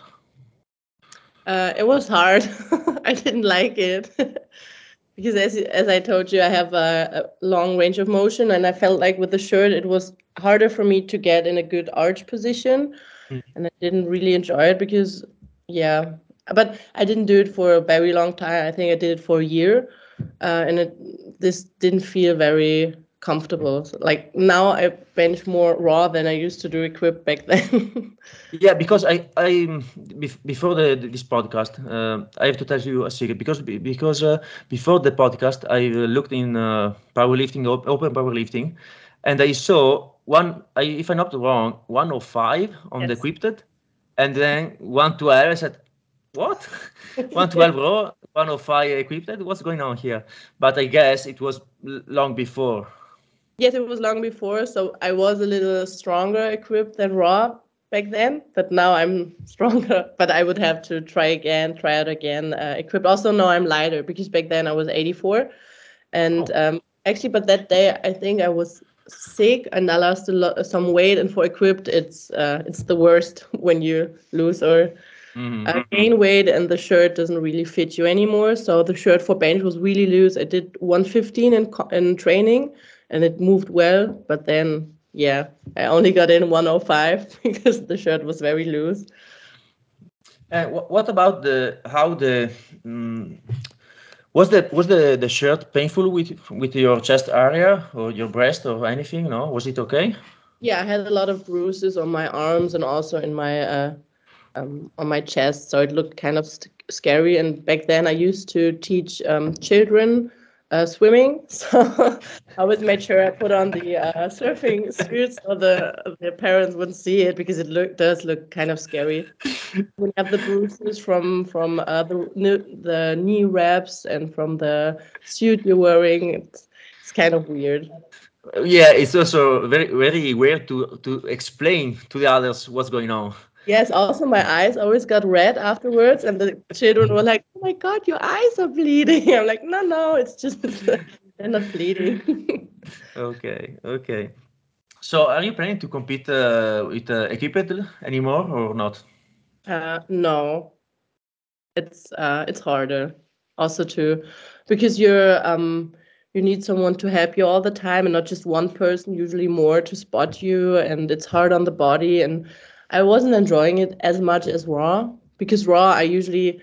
Uh, it was hard. I didn't like it because, as as I told you, I have a, a long range of motion, and I felt like with the shirt, it was harder for me to get in a good arch position, Mm. and I didn't really enjoy it because, yeah, but I didn't do it for a very long time. I think I did it for a year, uh, and it this didn't feel very comfortable. So, like now, I bench more raw than I used to do equipped back then. Yeah, because I I bef- before the, this podcast, uh, I have to tell you a secret because be- because uh, before the podcast I uh, looked in uh, powerlifting, op- open powerlifting, and I saw one. I, if I'm not wrong, one oh five on the Yes. equipped, and then one twelve. I said, what? one twelve raw, one oh five equipped. What's going on here? But I guess it was l- long before. Yes, it was long before, so I was a little stronger equipped than Raw back then, but now I'm stronger. But I would have to try again, try out again, uh, equipped. Also, now I'm lighter because back then I was eighty-four, and Oh. um, actually, but that day I think I was sick and I lost a lot, some weight. And for equipped, it's uh, it's the worst when you lose or Mhm. uh, gain weight and the shirt doesn't really fit you anymore. So the shirt for bench was really loose. I did one fifteen in co- in training, and it moved well. But then, yeah, I only got in one oh five because the shirt was very loose. And wh- what about the how the mm was the was the the shirt painful with with your chest area or your breast or anything? No, was it okay? Yeah, I had a lot of bruises on my arms and also in my uh, um, on my chest, so it looked kind of st- scary. And back then, I used to teach um, children uh, swimming, so I always made sure I put on the uh, surfing suits so the their parents wouldn't see it because it look does look kind of scary. We have the bruises from from uh, the kn- the knee wraps and from the suit you're wearing. It's, it's kind of weird. Yeah, it's also very very weird to to explain to the others what's going on. Yes, also my eyes always got red afterwards, and the children were like, "Oh my God, your eyes are bleeding." I'm like, "No, no, it's just they're not bleeding." Okay, okay. So, are you planning to compete uh, with uh, equipped anymore or not? Uh, no, it's uh, it's harder also to because you're um you need someone to help you all the time and not just one person, usually more to spot you, and it's hard on the body. And I wasn't enjoying it as much as raw because raw I usually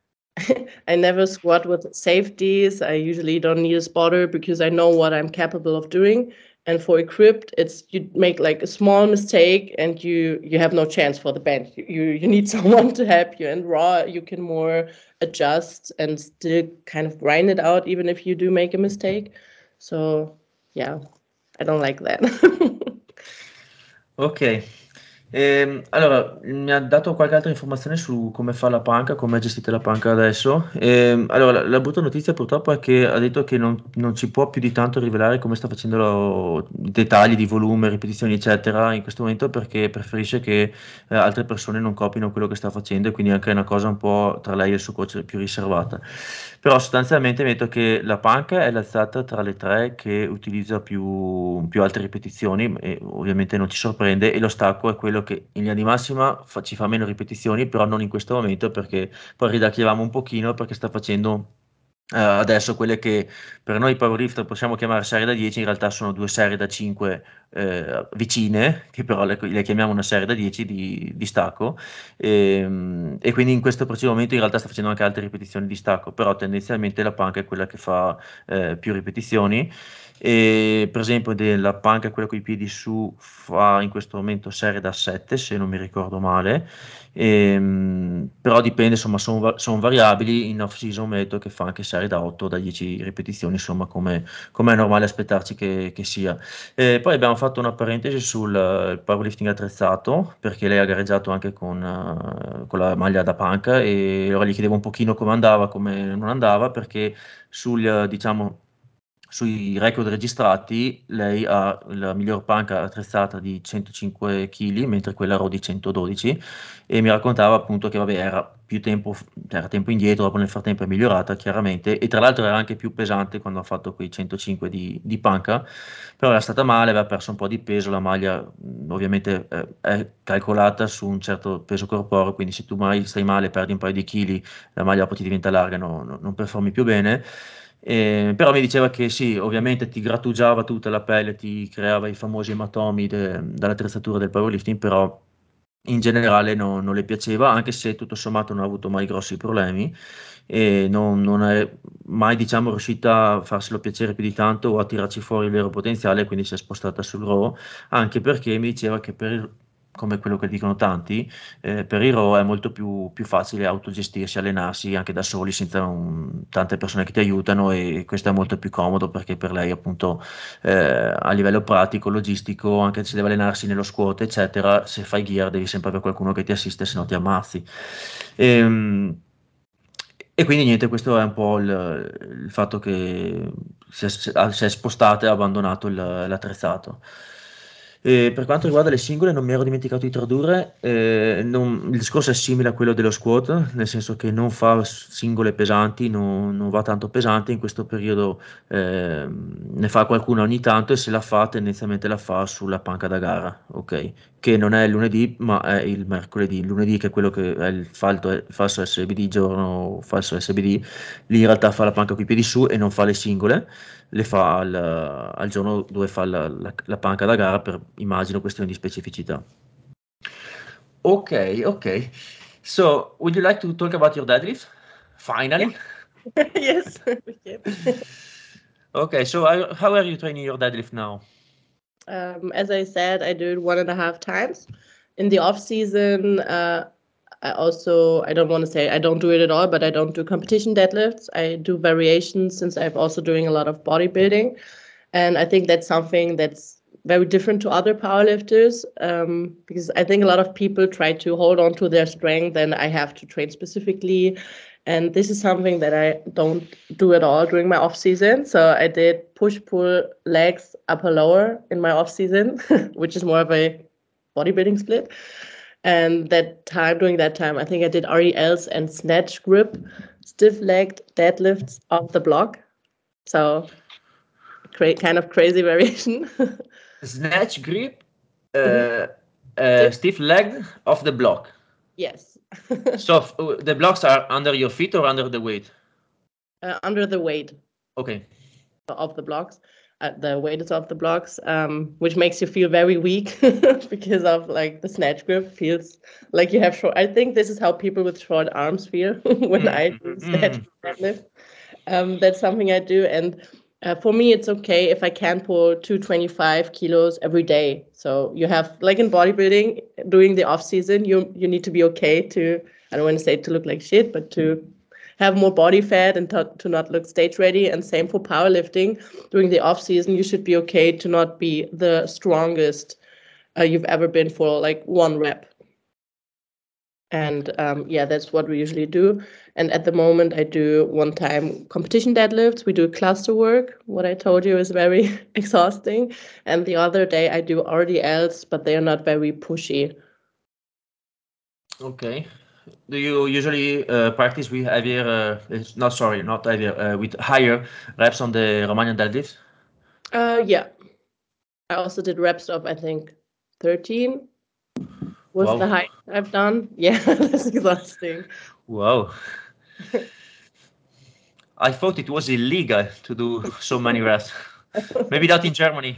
I never squat with safeties. I usually don't need a spotter because I know what I'm capable of doing. And for equipped, it's you make like a small mistake and you you have no chance for the bench. You you need someone to help you. And raw, you can more adjust and still kind of grind it out, even if you do make a mistake. So yeah, I don't like that. Ok. Ehm, allora, mi ha dato qualche altra informazione su come fa la panca, come gestite la panca adesso. Ehm, allora, la, la brutta notizia purtroppo è che ha detto che non, non ci può più di tanto rivelare come sta facendo lo- i dettagli di volume, ripetizioni, eccetera, in questo momento perché preferisce che eh, altre persone non copino quello che sta facendo e quindi anche è una cosa un po' tra lei e il suo coach più riservata. Però sostanzialmente mi ha detto che la panca è l'alzata tra le tre che utilizza più, più alte ripetizioni e ovviamente non ci sorprende e lo stacco è quello che in linea di massima fa- ci fa meno ripetizioni, però non in questo momento perché poi ridacchiavamo un pochino perché sta facendo eh, adesso quelle che per noi powerlifter possiamo chiamare serie da dieci, in realtà sono due serie da cinque eh, vicine, che però le, le chiamiamo una serie da dieci di, di stacco. E, e quindi in questo preciso momento in realtà sta facendo anche altre ripetizioni di stacco, però tendenzialmente la panca è quella che fa eh, più ripetizioni. E per esempio della panca, quella con i piedi su, fa in questo momento serie da sette, se non mi ricordo male. Ehm, però dipende, insomma, sono sono variabili. In off season metto che fa anche serie da otto, da dieci ripetizioni, insomma, come, come è normale aspettarci che, che sia. E poi abbiamo fatto una parentesi sul eh, powerlifting attrezzato, perché lei ha gareggiato anche con, eh, con la maglia da panca e allora gli chiedevo un pochino come andava, come non andava, perché sul, eh, diciamo, sui record registrati lei ha la miglior panca attrezzata di centocinque chili, mentre quella raw di centododici, e mi raccontava appunto che vabbè, era più tempo, era tempo indietro, dopo nel frattempo è migliorata chiaramente, e tra l'altro era anche più pesante quando ha fatto quei centocinque di, di panca, però era stata male, aveva perso un po' di peso, la maglia mh, ovviamente eh, è calcolata su un certo peso corporeo, quindi se tu mai stai male, perdi un paio di chili, la maglia poi ti diventa larga, no- no- non performi più bene. Eh, però mi diceva che sì, ovviamente ti grattugiava tutta la pelle, ti creava i famosi ematomi de- dall'attrezzatura del powerlifting, però in generale no- non le piaceva, anche se tutto sommato non ha avuto mai grossi problemi e non, non è mai, diciamo, riuscita a farselo piacere più di tanto o a tirarci fuori il vero potenziale, quindi si è spostata sul raw, anche perché mi diceva che per il- come quello che dicono tanti, eh, per i raw è molto più, più facile autogestirsi, allenarsi anche da soli senza un- tante persone che ti aiutano e questo è molto più comodo perché per lei appunto eh, a livello pratico, logistico, anche se deve allenarsi nello squat eccetera, se fai gear devi sempre avere qualcuno che ti assiste se no ti ammazzi. Ehm, E, quindi niente, questo è un po' il, il fatto che si è, si è spostata e ha abbandonato il- l'attrezzato. E per quanto riguarda le singole, non mi ero dimenticato di tradurre, eh, non- il discorso è simile a quello dello squat, nel senso che non fa singole pesanti, non, non va tanto pesante, in questo periodo eh, ne fa qualcuna ogni tanto e se la fa tendenzialmente la fa sulla panca da gara, ok? Che non è il lunedì ma è il mercoledì. Il lunedì che è quello che è il falto- il falso S B D, giorno falso S B D, lì in realtà fa la panca coi piedi su e non fa le singole, le fa al, al giorno dove fa la, la- la panca da gara per, immagino, questioni di specificità. Ok, ok. So, would you like to talk about your deadlift? Yeah. Finally. Yes. we can. Okay, so I- how are you training your deadlift now? Um, as I said, I do it one and a half times. In the off season, uh, I also I don't want to say I don't do it at all, but I don't do competition deadlifts. I do variations since I'm also doing a lot of bodybuilding, and I think that's something that's very different to other powerlifters, um, because I think a lot of people try to hold on to their strength, and I have to train specifically. And this is something that I don't do at all during my off season. So I did push pull legs upper lower in my off season, which is more of a bodybuilding split. And that time during that time, I think I did R E Ls and snatch grip, stiff legged deadlifts off the block. So cra- kind of crazy variation. Snatch grip, Mhm. uh, uh, Stiff, stiff legged off the block. yes. So f- uh, the blocks are under your feet or under the weight? Uh, under the weight Okay. of the blocks. Uh, the weight is off the blocks, um, which makes you feel very weak because of like the snatch grip feels like you have short. I think this is how people with short arms feel when I Mm, do snatch mm. deadlift. Um, that's something I do, and Uh, for me, it's okay if I can pull two hundred twenty-five kilos every day. So you have, like in bodybuilding, during the off season, you you need to be okay to, I don't want to say to look like shit, but to have more body fat and to, to not look stage ready. And same for powerlifting. During the off season, you should be okay to not be the strongest uh, you've ever been for like one rep. And um, yeah, that's what we usually do. And at the moment, I do one time competition deadlifts. We do cluster work. What I told you is very exhausting. And the other day, I do R D Ls, but they are not very pushy. Okay. Do you usually uh, practice with heavier, uh, not sorry, not heavier, uh, with higher reps on the Romanian deadlift? Uh, yeah. I also did reps of, I think, thirteen was Wow. the height I've done. Yeah, that's exhausting. Wow. I thought it was illegal to do so many reps. Maybe not in Germany.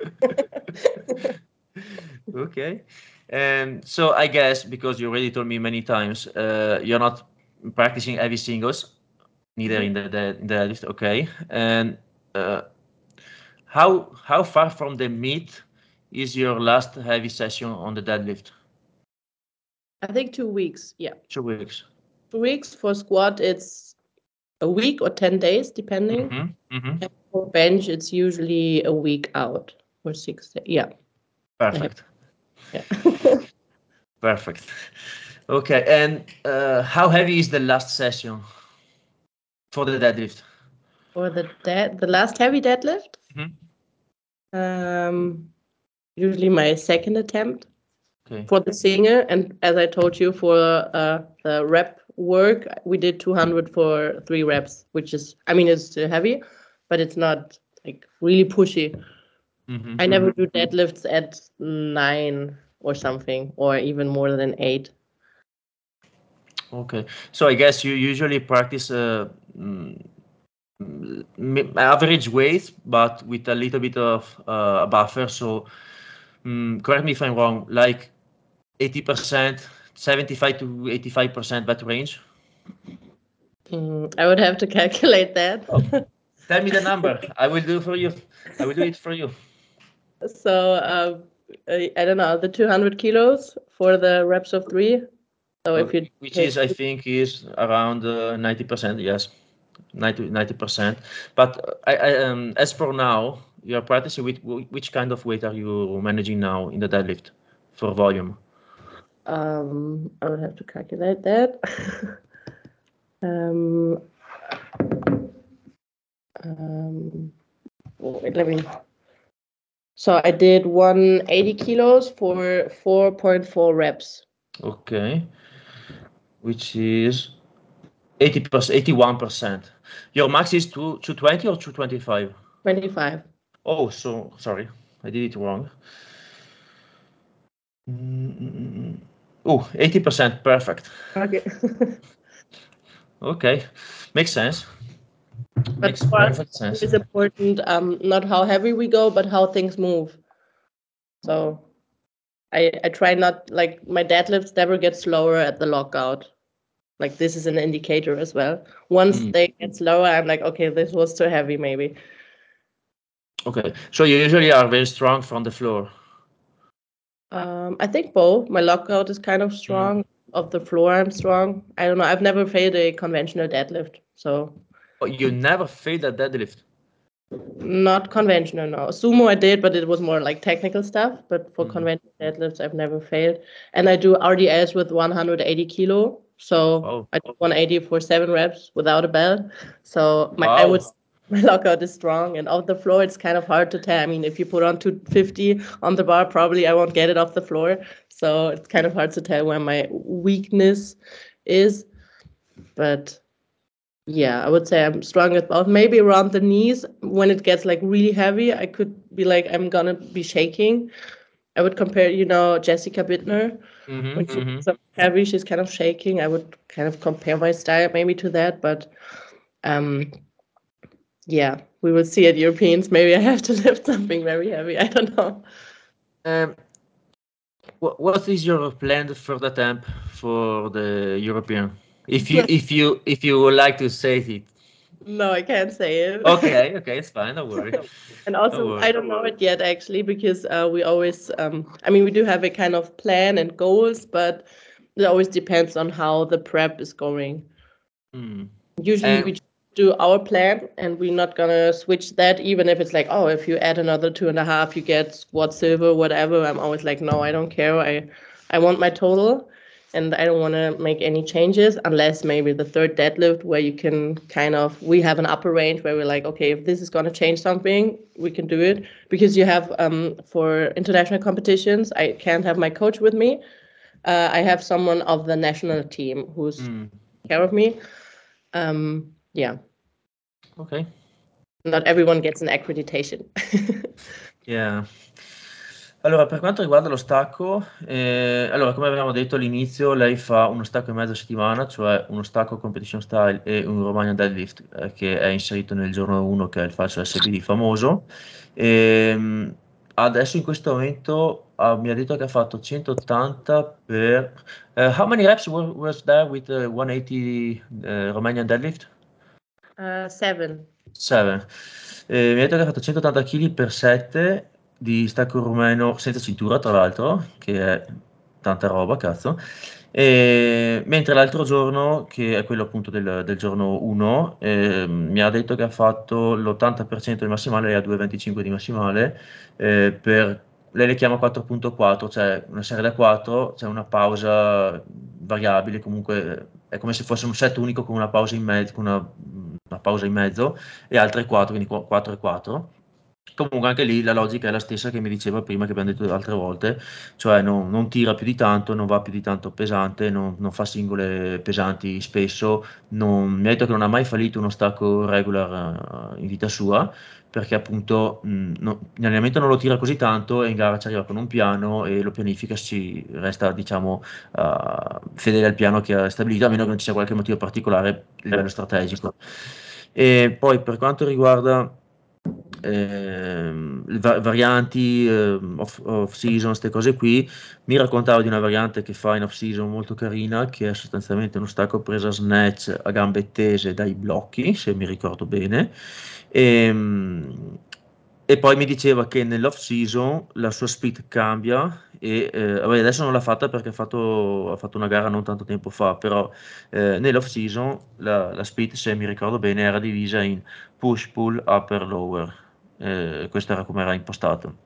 Okay. And so I guess because you already told me many times, uh, you're not practicing heavy singles, neither in the, the in the deadlift. Okay. And uh, how how far from the meet is your last heavy session on the deadlift? I think two weeks. Yeah. Two weeks. Two weeks for squat, it's a week or ten days, depending. Mm-hmm. Mm-hmm. And for bench, it's usually a week out or six days. Yeah. I have, Perfect. yeah. Perfect. Okay. And uh, how heavy is the last session for the deadlift? For the dead, the last heavy deadlift, Mm-hmm. um, usually my second attempt Okay. for the singer. And as I told you, for uh, the rep work, we did two hundred for three reps, which is, I mean, it's still heavy, but it's not like really pushy. Mm-hmm. I never do deadlifts at nine or something, or even more than eight. Okay. So I guess you usually practice uh, mm, m- average weight, but with a little bit of uh, buffer. So mm, correct me if I'm wrong, like eighty percent, seventy-five to eighty-five percent that range. Mm, I would have to calculate that. Tell me the number. I will do for you. I will do it for you. So uh, I, I don't know, the two hundred kilos for the reps of three. So Uh, if you which take, is, I think, is around uh, ninety percent. Yes, ninety percent. But uh, I, I, um, as for now, you are practicing with wh- which kind of weight are you managing now in the deadlift for volume? um, I would have to calculate that. um, um, wait, let me. So I did one hundred eighty kilos for four point four reps. Okay, which is eighty percent, eighty-one percent. Your max is two, 220 or two twenty-five? twenty-five. Oh, so sorry, I did it wrong. Mm-mm-mm. Oh, eighty percent, perfect. Okay. Okay, makes sense. But Makes for us, perfect sense. it's important um, not how heavy we go, but how things move. So I, I try not, like my deadlifts never get slower at the lockout. Like this is an indicator as well. Once Mm. they get slower, I'm like, okay, this was too heavy maybe. Okay, so you usually are very strong from the floor. Um, I think both. My lockout is kind of strong. Of the floor, I'm strong. I don't know. I've never failed a conventional deadlift, so Oh, you never failed a deadlift. not conventional. No, sumo I did, but it was more like technical stuff. But for Mm. conventional deadlifts, I've never failed. And I do R D Ls with one hundred eighty kilo. So Wow. I do one eighty for seven reps without a belt. So my I would Wow. my lockout is strong, and off the floor it's kind of hard to tell. I mean, if you put on two fifty on the bar, probably I won't get it off the floor. So it's kind of hard to tell where my weakness is. But yeah, I would say I'm strong at both. Maybe around the knees when it gets like really heavy, I could be like I'm gonna be shaking. I would compare, you know, Jessica Bittner. Mm-hmm, When she's mm-hmm. so heavy, she's kind of shaking. I would kind of compare my style maybe to that, but um yeah, we will see at Europeans. Maybe I have to lift something very heavy. I don't know. Um, what, what is your planned third attempt for the European? If you if you if you would like to say it. No, I can't say it. Okay, okay, it's fine. Don't worry. And Don't also, worry. I don't know it yet actually, because uh, we always, um, I mean, we do have a kind of plan and goals, but it always depends on how the prep is going. Mm. Usually And we do our plan and we're not gonna switch that, even if it's like, oh, if you add another two and a half, you get squat silver, whatever. I'm always like, no, I don't care. I, I want my total. And I don't want to make any changes unless maybe the third deadlift, where you can kind of, we have an upper range where we're like, okay, if this is going to change something, we can do it. Because you have, um, for international competitions, I can't have my coach with me. Uh, I have someone of the national team who's mm. care of me. Um, yeah. Okay. Not everyone gets an accreditation. Yeah. Allora, per quanto riguarda lo stacco, eh, allora, come avevamo detto all'inizio, lei fa uno stacco e mezzo a settimana, cioè uno stacco competition style e un Romanian deadlift, eh, che è inserito nel giorno uno, che è il falso S B D famoso. E, adesso in questo momento ah, mi ha detto che ha fatto centottanta per... Uh, how many reps was, was there with the centottanta uh, Romanian deadlift? Uh, seven. sette. Eh, mi ha detto che ha fatto centottanta chili per sette di stacco rumeno senza cintura, tra l'altro, che è tanta roba, cazzo. E, mentre l'altro giorno, che è quello appunto del, del giorno uno, eh, mi ha detto che ha fatto l'ottanta per cento di massimale, lei ha due virgola venticinque di massimale, eh, per, lei le chiama quattro virgola quattro, cioè una serie da quattro, c'è una pausa variabile, comunque è come se fosse un set unico con una pausa in mezzo, con una, una pausa in mezzo e altre quattro, quindi quattro e quattro. Comunque anche lì la logica è la stessa che mi diceva prima, che abbiamo detto altre volte, cioè non, non tira più di tanto, non va più di tanto pesante, non, non fa singole pesanti spesso, non, mi ha detto che non ha mai fallito uno stacco regular uh, in vita sua, perché appunto mh, no, in allenamento non lo tira così tanto e in gara ci arriva con un piano e lo pianifica, si resta diciamo uh, fedele al piano che ha stabilito, a meno che non ci sia qualche motivo particolare a livello strategico. E poi per quanto riguarda eh, va- varianti eh, off, off season, queste cose qui, mi raccontava di una variante che fa in off season molto carina, che è sostanzialmente uno stacco presa snatch a gambe tese dai blocchi, se mi ricordo bene. E, e poi mi diceva che nell'off season la sua speed cambia e eh, vabbè, adesso non l'ha fatta perché ha fatto, ha fatto una gara non tanto tempo fa, però eh, nell'off season la, la speed, se mi ricordo bene, era divisa in push, pull, upper, lower. Eh, questo era come era impostato.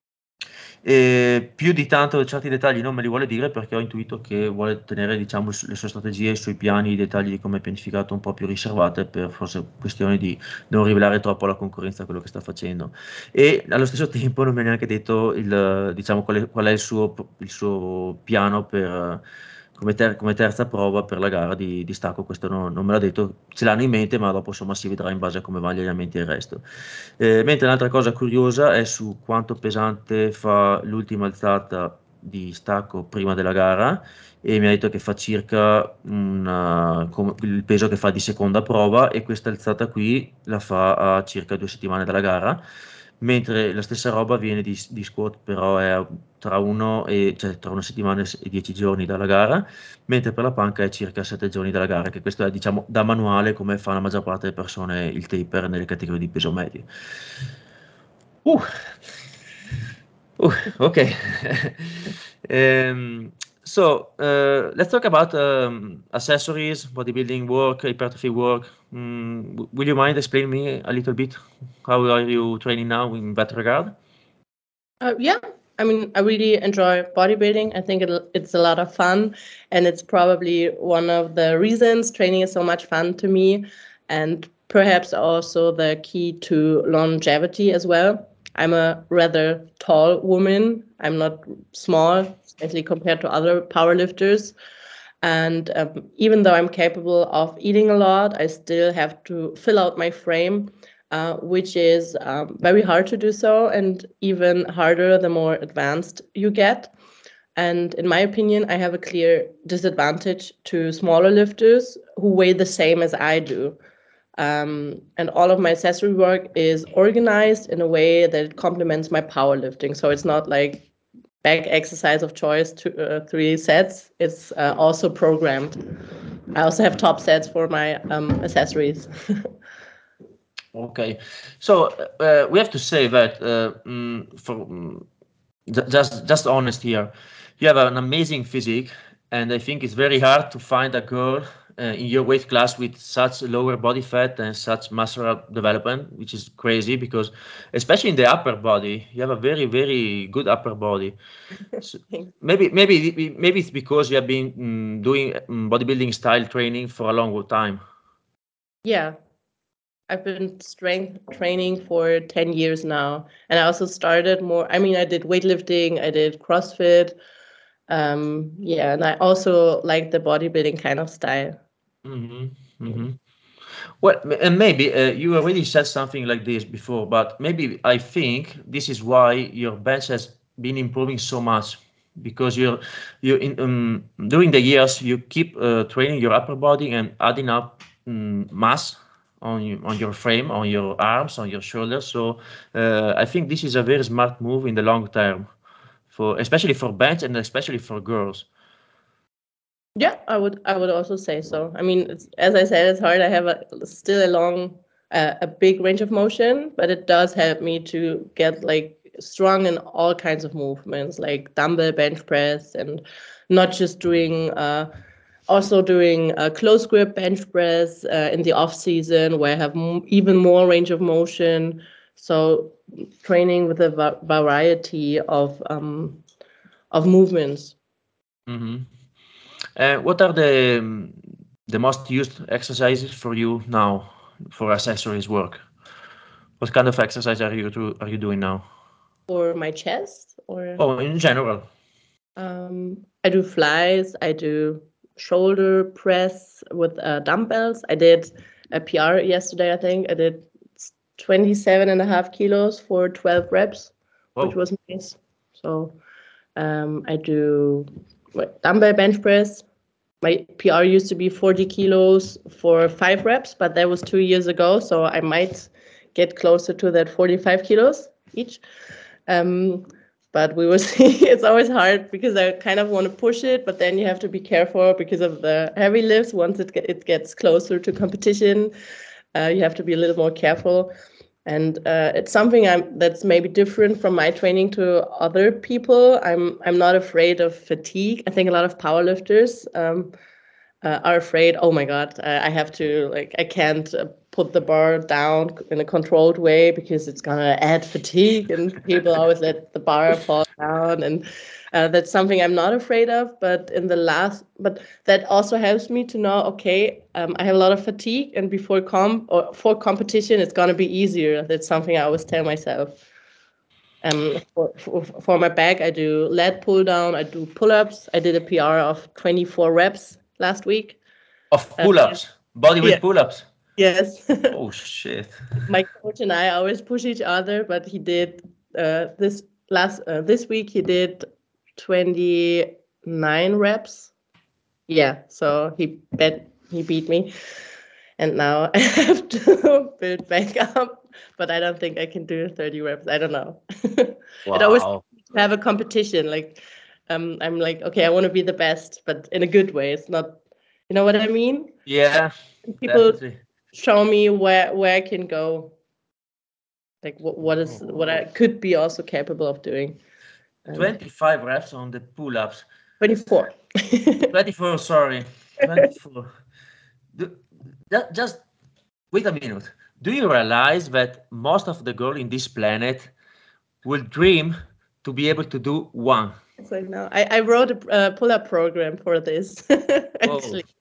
E più di tanto certi dettagli non me li vuole dire, perché ho intuito che vuole tenere, diciamo, le sue strategie, i suoi piani, i dettagli di come è pianificato un po' più riservate, per forse questioni di non rivelare troppo alla concorrenza quello che sta facendo. E allo stesso tempo non mi ha neanche detto il, diciamo, qual è, qual è il suo, il suo piano per, come, ter- come terza prova per la gara di, di stacco. Questo non, non me l'ha detto, ce l'hanno in mente, ma dopo insomma si vedrà in base a come vanno gli allenamenti e il resto. Eh, mentre un'altra cosa curiosa è su quanto pesante fa l'ultima alzata di stacco prima della gara, e mi ha detto che fa circa una- com- il peso che fa di seconda prova, e questa alzata qui la fa a circa due settimane dalla gara, mentre la stessa roba viene di, di squat, però è tra, uno e, cioè, tra una settimana e dieci giorni dalla gara, mentre per la panca è circa sette giorni dalla gara, che questo è diciamo da manuale, come fa la maggior parte delle persone il taper nelle categorie di peso medio. Uh, uh, okay. um, so uh, let's talk about um, accessories, bodybuilding work, hypertrophy work. Mm, w- will you mind explaining me a little bit how are you training now in that regard? Uh, yeah, I mean, I really enjoy bodybuilding. I think it, it's a lot of fun, and it's probably one of the reasons training is so much fun to me, and perhaps also the key to longevity as well. I'm a rather tall woman. I'm not small, especially compared to other powerlifters. And um, even though I'm capable of eating a lot, I still have to fill out my frame, uh, which is um, very hard to do so, and even harder the more advanced you get. And in my opinion, I have a clear disadvantage to smaller lifters who weigh the same as I do. Um, and all of my accessory work is organized in a way that it complements my powerlifting. So it's not like back exercise of choice, two, uh, three sets. It's uh, also programmed. I also have top sets for my um, accessories. Okay, so uh, we have to say that uh, mm, for mm, ju- just just honest here, you have an amazing physique, and I think it's very hard to find a girl uh, in your weight class with such lower body fat and such muscular development, which is crazy because, especially in the upper body, you have a very very good upper body. So maybe maybe maybe it's because you have been mm, doing mm, bodybuilding style training for a long time. Yeah, I've been strength training for ten years now. And I also started more, I mean, I did weightlifting, I did CrossFit. Um, yeah, and I also like the bodybuilding kind of style. hmm hmm Well, m- and maybe uh, you already said something like this before, but maybe I think this is why your bench has been improving so much because you're you in um, during the years you keep uh, training your upper body and adding up um, mass on you, on your frame, on your arms, on your shoulders. So uh, I think this is a very smart move in the long term for especially for bench and especially for girls. Yeah, I would I would also say so. I mean, it's, as I said, it's hard. I have a still a long, uh, a big range of motion, but it does help me to get like strong in all kinds of movements, like dumbbell bench press, and not just doing, uh, also doing a close grip bench press uh, in the off season where I have m- even more range of motion. So training with a va- variety of um, of movements. hmm Uh, what are the um, the most used exercises for you now for accessories work? What kind of exercise are you do, are you doing now? For my chest, or Oh, in general. um, I do flies, I do shoulder press with uh, dumbbells. I did a P R yesterday, I think. I did twenty-seven and a half kilos for twelve reps, which Oh. was nice. So um, I do what, dumbbell bench press. My P R used to be forty kilos for five reps, but that was two years ago. So I might get closer to that forty-five kilos each. Um, but we will see. It's always hard because I kind of want to push it, but then you have to be careful because of the heavy lifts. Once it, get, it gets closer to competition, uh, you have to be a little more careful. And uh, it's something I'm that's maybe different from my training to other people. I'm I'm not afraid of fatigue. I think a lot of powerlifters um, uh, are afraid. Oh my God, I, I have to like I can't uh, put the bar down in a controlled way because it's gonna add fatigue, and people always let the bar fall down, and uh, that's something I'm not afraid of. But in the last, but that also helps me to know. Okay, um, I have a lot of fatigue, and before comp or for competition, it's gonna be easier. That's something I always tell myself. Um, for, for, for my back, I do lat pull down, I do pull ups. I did a P R of twenty-four reps last week. Of Uh, pull-ups, body yeah, weight pull-ups. yes. Oh shit. My coach and I always push each other, but he did uh, this last uh, this week he did twenty-nine reps. Yeah, so he bet he beat me, and now I have to build back up. But I don't think I can do thirty reps. I don't know. It always Wow. have a competition. Like, um, I'm like, okay, I want to be the best, but in a good way. It's not, you know what I mean? Yeah, People definitely. show me where where I can go, like what what is Wow. what I could be also capable of doing. And twenty-five reps on the pull-ups. twenty-four. twenty-four, sorry. twenty-four. Do, ju- just wait a minute. Do you realize that most of the girls in this planet will dream to be able to do one? So now I, I wrote a uh, pull-up program for this Whoa. actually.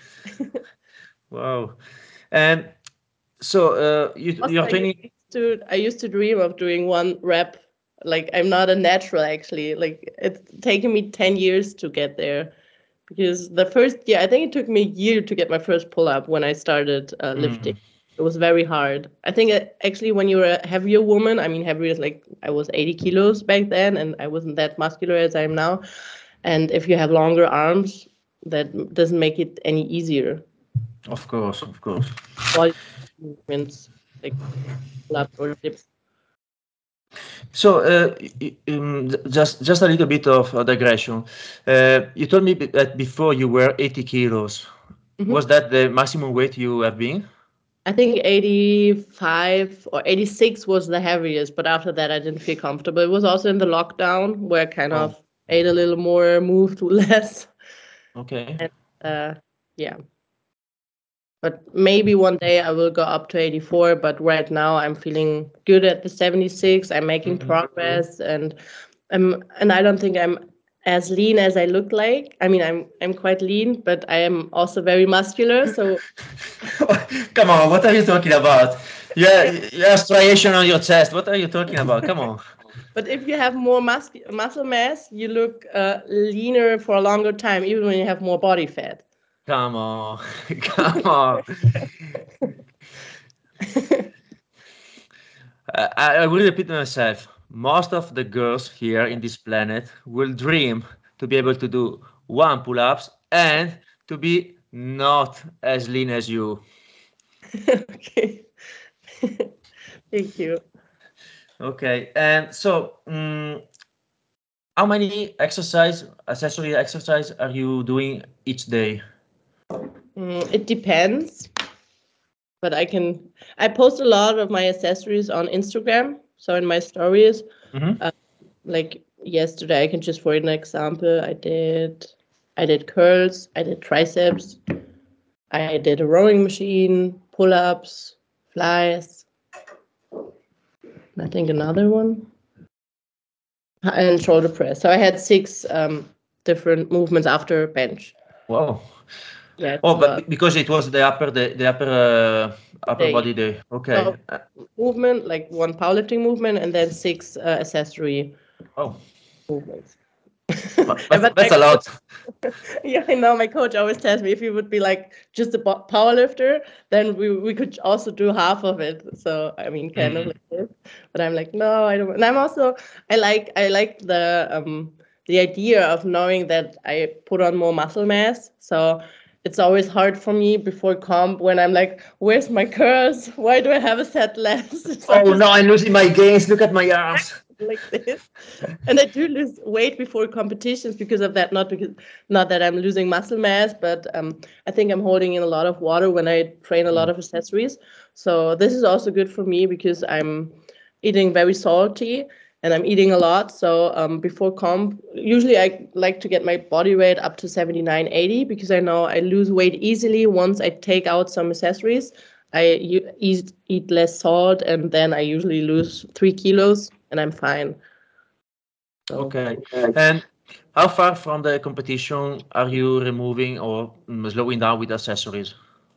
Wow. And so uh, you, Also, you're I used training. to I used to dream of doing one rep. Like I'm not a natural actually. Like it's taken me ten years to get there because the first year I think it took me a year to get my first pull-up when I started uh, lifting. Mm, It was very hard. I think uh, actually when you're a heavier woman, I mean heavier is like I was eighty kilos back then and I wasn't that muscular as I am now. And if you have longer arms, that doesn't make it any easier. of course, of course. All movements like pull-up or dips. So, uh, y- y- um, just just a little bit of a digression. Uh, you told me be- that before you were eighty kilos. Was Mhm. that the maximum weight you have been? I think eighty-five or eighty-six was the heaviest, but after that I didn't feel comfortable. It was also in the lockdown where I kind Oh. of ate a little more, moved less. Okay. And, uh, yeah. But maybe one day I will go up to eighty-four, but right now I'm feeling good at the seventy-six. I'm making Mm-hmm. progress, and I'm and I don't think I'm as lean as I look like. I mean, I'm I'm quite lean, but I am also very muscular. So Come on, what are you talking about? Yeah, you have striation on your chest. What are you talking about? Come on. But if you have more mus- muscle mass, you look uh, leaner for a longer time, even when you have more body fat. Come on. Come on. Uh, I, I will repeat myself. Most of the girls here in this planet will dream to be able to do one pull-ups and to be not as lean as you. Okay. Thank you. Okay, and so um, how many exercise, accessory exercise are you doing each day? Mm, it depends, but I can. I post a lot of my accessories on Instagram. So in my stories, Mm-hmm. uh, like yesterday, I can just for an example, I did, I did curls, I did triceps, I did a rowing machine, pull-ups, flies. I think another one, and shoulder press. So I had six um, different movements after bench. Wow. Yeah, it's Oh, a but lot. be- because it was the upper the, the upper uh, upper Day. body day. Okay. So Uh, movement, like one powerlifting movement, and then six uh, accessory oh, movements. but And that's but that's my a lot. coach, yeah, I know my coach always tells me if he would be like just a bo- power lifter, then we we could also do half of it. So I mean, kind of Mm. like this. But I'm like, no, I don't. And I'm also I like I like the um the idea of knowing that I put on more muscle mass. So it's always hard for me before comp when I'm like, where's my curls? Why do I have a set less? It's Oh always no, I'm losing my gains. Look at my arms. like this. And I do lose weight before competitions because of that. Not because not that I'm losing muscle mass, but um, I think I'm holding in a lot of water when I train a lot Mm. of accessories. So this is also good for me because I'm eating very salty and I'm eating a lot. So um, before comp, usually I like to get my body weight up to seventy-nine, eighty because I know I lose weight easily once I take out some accessories. I u- eat eat less salt, and then I usually lose three kilos, and I'm fine. So Okay. And how far from the competition are you removing or mm, slowing down with accessories?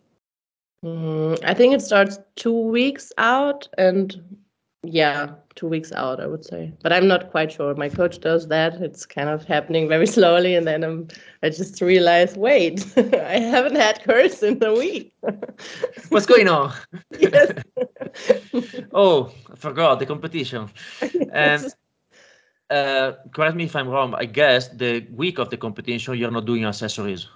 mm, I think it starts two weeks out, and yeah, two weeks out, I would say. But I'm not quite sure. My coach does that. It's kind of happening very slowly, and then I'm, I just realize, wait, I haven't had curse in a week. What's going on? Yes. Oh, I forgot the competition. And Yes. uh, correct me if I'm wrong. I guess the week of the competition you're not doing accessories.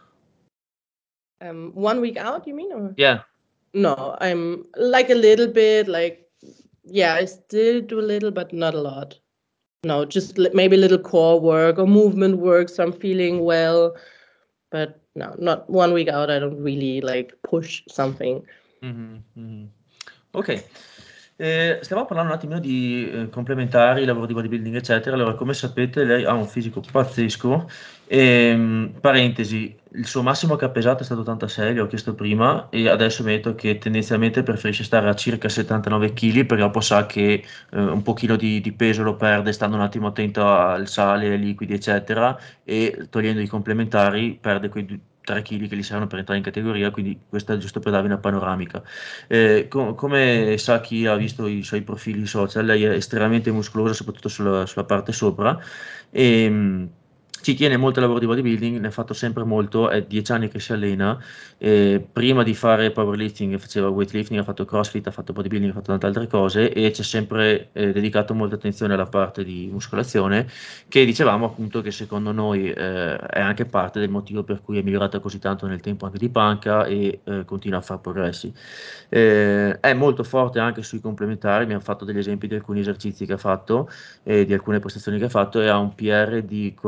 Um, one week out, you mean? Or Yeah. no, I'm like a little bit, like, yeah, I still do a little, but not a lot. No, just li- maybe a little core work or movement work, so I'm feeling well. But no, not one week out. I don't really like push something. Mhm, mhm. Ok. Eh, stiamo parlando un attimino di eh, complementari, lavoro di bodybuilding, eccetera. Allora, come sapete, lei ha un fisico pazzesco. E, parentesi, il suo massimo che ha pesato è stato ottantasei, le ho chiesto prima, e adesso mi ha detto che tendenzialmente preferisce stare a circa settantanove chili, perché dopo sa che eh, un pochino di, di peso lo perde, stando un attimo attento al sale, ai liquidi, eccetera, e togliendo i complementari perde quei tre chili che gli servono per entrare in categoria, quindi questo è giusto per darvi una panoramica. Eh, co- come sa chi ha visto i suoi profili social, lei è estremamente muscolosa, soprattutto sulla, sulla parte sopra, e mh, ci tiene molto al lavoro di bodybuilding, ne ha fatto sempre molto, è dieci anni che si allena, e prima di fare powerlifting faceva weightlifting, ha fatto crossfit, ha fatto bodybuilding, ha fatto tante altre cose e ci ha sempre eh, dedicato molta attenzione alla parte di muscolazione, che dicevamo appunto che secondo noi eh, è anche parte del motivo per cui è migliorata così tanto nel tempo anche di panca e eh, continua a fare progressi. Eh, è molto forte anche sui complementari, mi ha fatto degli esempi di alcuni esercizi che ha fatto e di alcune prestazioni che ha fatto, e ha un P R di quaranta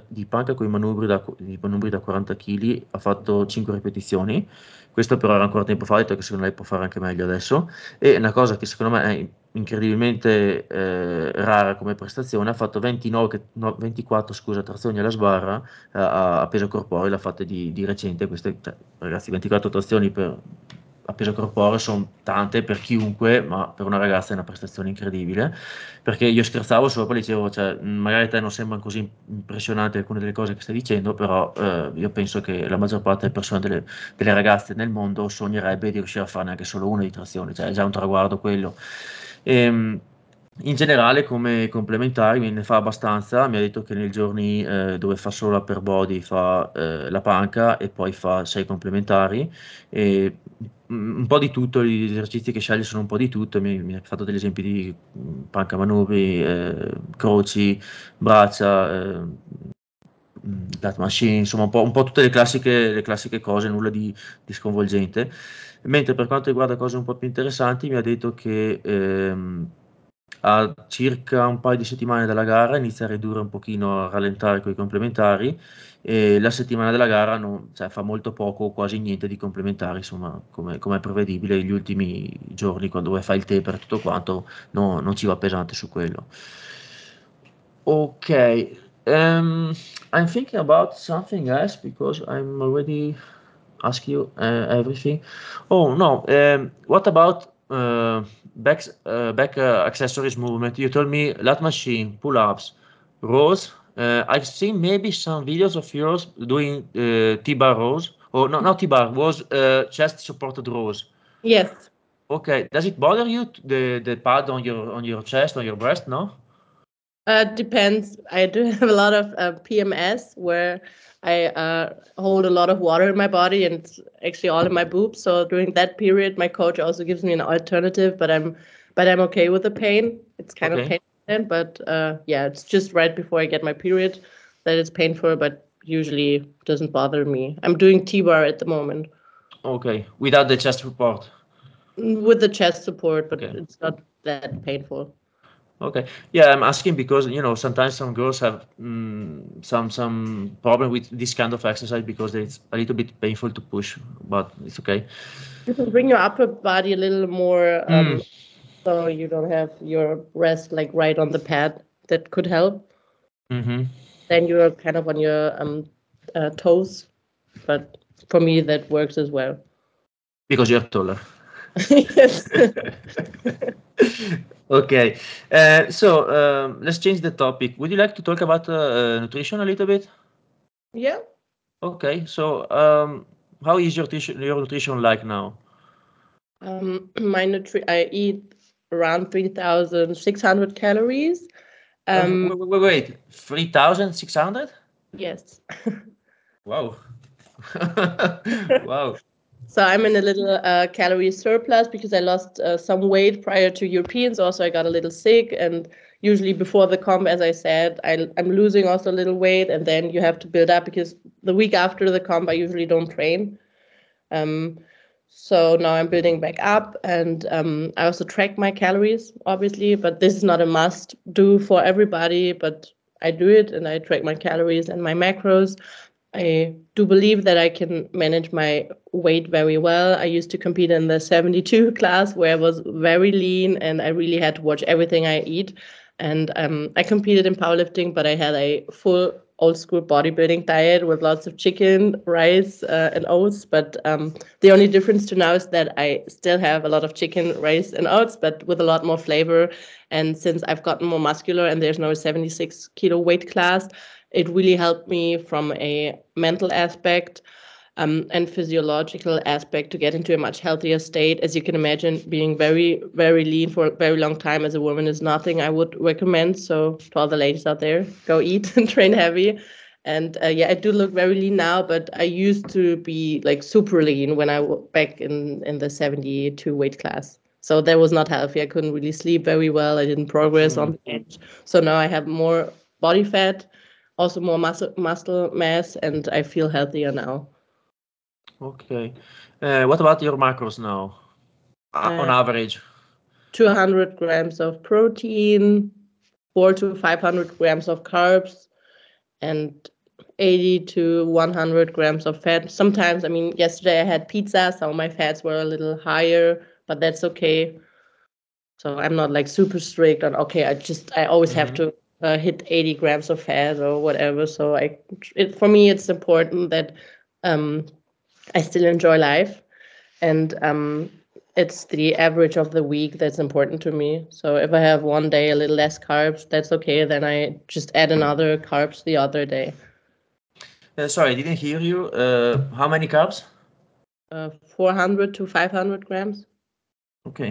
di panca con i manubri da, i manubri da quaranta chili, ha fatto cinque ripetizioni, questo però era ancora tempo fa, ha detto che secondo lei può fare anche meglio adesso, e una cosa che secondo me è incredibilmente eh, rara come prestazione, ha fatto ventinove, no, ventiquattro scusa, trazioni alla sbarra eh, a, a peso corporeo, l'ha fatte di, di recente, queste, cioè, ragazzi, ventiquattro trazioni per, a peso corporeo sono tante per chiunque, ma per una ragazza è una prestazione incredibile, perché io scherzavo sopra, dicevo, cioè, magari a te non sembrano così impressionanti alcune delle cose che stai dicendo, però eh, io penso che la maggior parte delle persone, delle, delle ragazze nel mondo sognerebbe di riuscire a farne anche solo una di trazione, cioè è già un traguardo quello. E, in generale, come complementari me ne fa abbastanza. Mi ha detto che nei giorni eh, dove fa solo upper body fa eh, la panca e poi fa sei complementari. E un po' di tutto, gli esercizi che sceglie sono un po' di tutto. Mi, mi ha fatto degli esempi di mh, panca manubri, eh, croci, braccia, eh, that machine, insomma un po', un po' tutte le classiche, le classiche cose, nulla di, di sconvolgente. Mentre per quanto riguarda cose un po' più interessanti, mi ha detto che ehm, a circa un paio di settimane dalla gara inizia a ridurre un pochino, a rallentare con i complementari, e la settimana della gara non- cioè, fa molto poco o quasi niente di complementari, insomma, come, come è prevedibile, gli ultimi giorni quando fai il taper e tutto quanto no- non ci va pesante su quello. Ok, um, I'm thinking about something else because I'm already asked you uh, everything. Oh no, um, what about uh, back uh, back uh, accessories movement? You told me lat machine, pull-ups, rows. Uh, I've seen maybe some videos of yours doing uh, T-bar rows. Oh no, not T-bar, was uh, chest supported rows. Yes. Okay, does it bother you t- the the pad on your on your chest, on your breast? No. Uh, depends. I do have a lot of uh, P M S where I uh, hold a lot of water in my body and it's actually all in my boobs. So during that period, my coach also gives me an alternative, but I'm but I'm okay with the pain. It's kind of Okay. painful, then, but uh, yeah, it's just right before I get my period that it's painful, but usually doesn't bother me. I'm doing T-bar at the moment Okay, without the chest support. with the chest support, but Okay. it's not that painful. Okay. Yeah, I'm asking because you know sometimes some girls have mm, some some problem with this kind of exercise because it's a little bit painful to push, but it's okay. You can bring your upper body a little more Mm. um, so you don't have your breast like right on the pad. That could help. Mm-hmm. Then you're kind of on your um, uh, toes, but for me that works as well. Because you're taller. Yes. Okay. Uh, so um, let's change the topic. Would you like to talk about uh, uh, nutrition a little bit? Yeah. Okay. So um, how is your nutrition, your nutrition like now? Um, my nutri I eat around three thousand six hundred calories. Um, Um, wait, wait, wait. three thousand six hundred? yes. Wow. Wow. So I'm in a little uh, calorie surplus because I lost uh, some weight prior to Europeans. Also, I got a little sick, and usually before the comp, as I said, I, I'm losing also a little weight, and then you have to build up because the week after the comp, I usually don't train. Um, so now I'm building back up, and um, I also track my calories, obviously, but this is not a must do for everybody. But I do it, and I track my calories and my macros. I do believe that I can manage my weight very well. I used to compete in the seventy-two class where I was very lean and I really had to watch everything I eat. And um, I competed in powerlifting, but I had a full old school bodybuilding diet with lots of chicken, rice, uh, and oats. But um, the only difference to now is that I still have a lot of chicken, rice, and oats, but with a lot more flavor. And since I've gotten more muscular and there's no seventy-six kilo weight class, it really helped me from a mental aspect um, and physiological aspect to get into a much healthier state. As you can imagine, being very, very lean for a very long time as a woman is nothing I would recommend. So to all the ladies out there, go eat and train heavy. And uh, yeah, I do look very lean now, but I used to be like super lean when I was back in, in the seventy-two weight class. So that was not healthy. I couldn't really sleep very well. I didn't progress Mm. on the bench. So now I have more body fat, also more muscle muscle mass, and I feel healthier now. Okay. Uh, what about your macros now? Uh, on Uh, average? two hundred grams of protein, four to five hundred grams of carbs, and eighty to one hundred grams of fat. Sometimes, I mean, yesterday I had pizza, so my fats were a little higher, but that's okay. So I'm not like super strict on, okay, I just, I always mm-hmm. have to uh, hit eighty grams of fat or whatever. So I, it, for me, it's important that um, I still enjoy life. And um, it's the average of the week that's important to me. So if I have one day a little less carbs, that's okay. Then I just add another carbs the other day. Uh, sorry, I didn't hear you. Uh, how many carbs? Uh, four hundred to five hundred grams. Okay.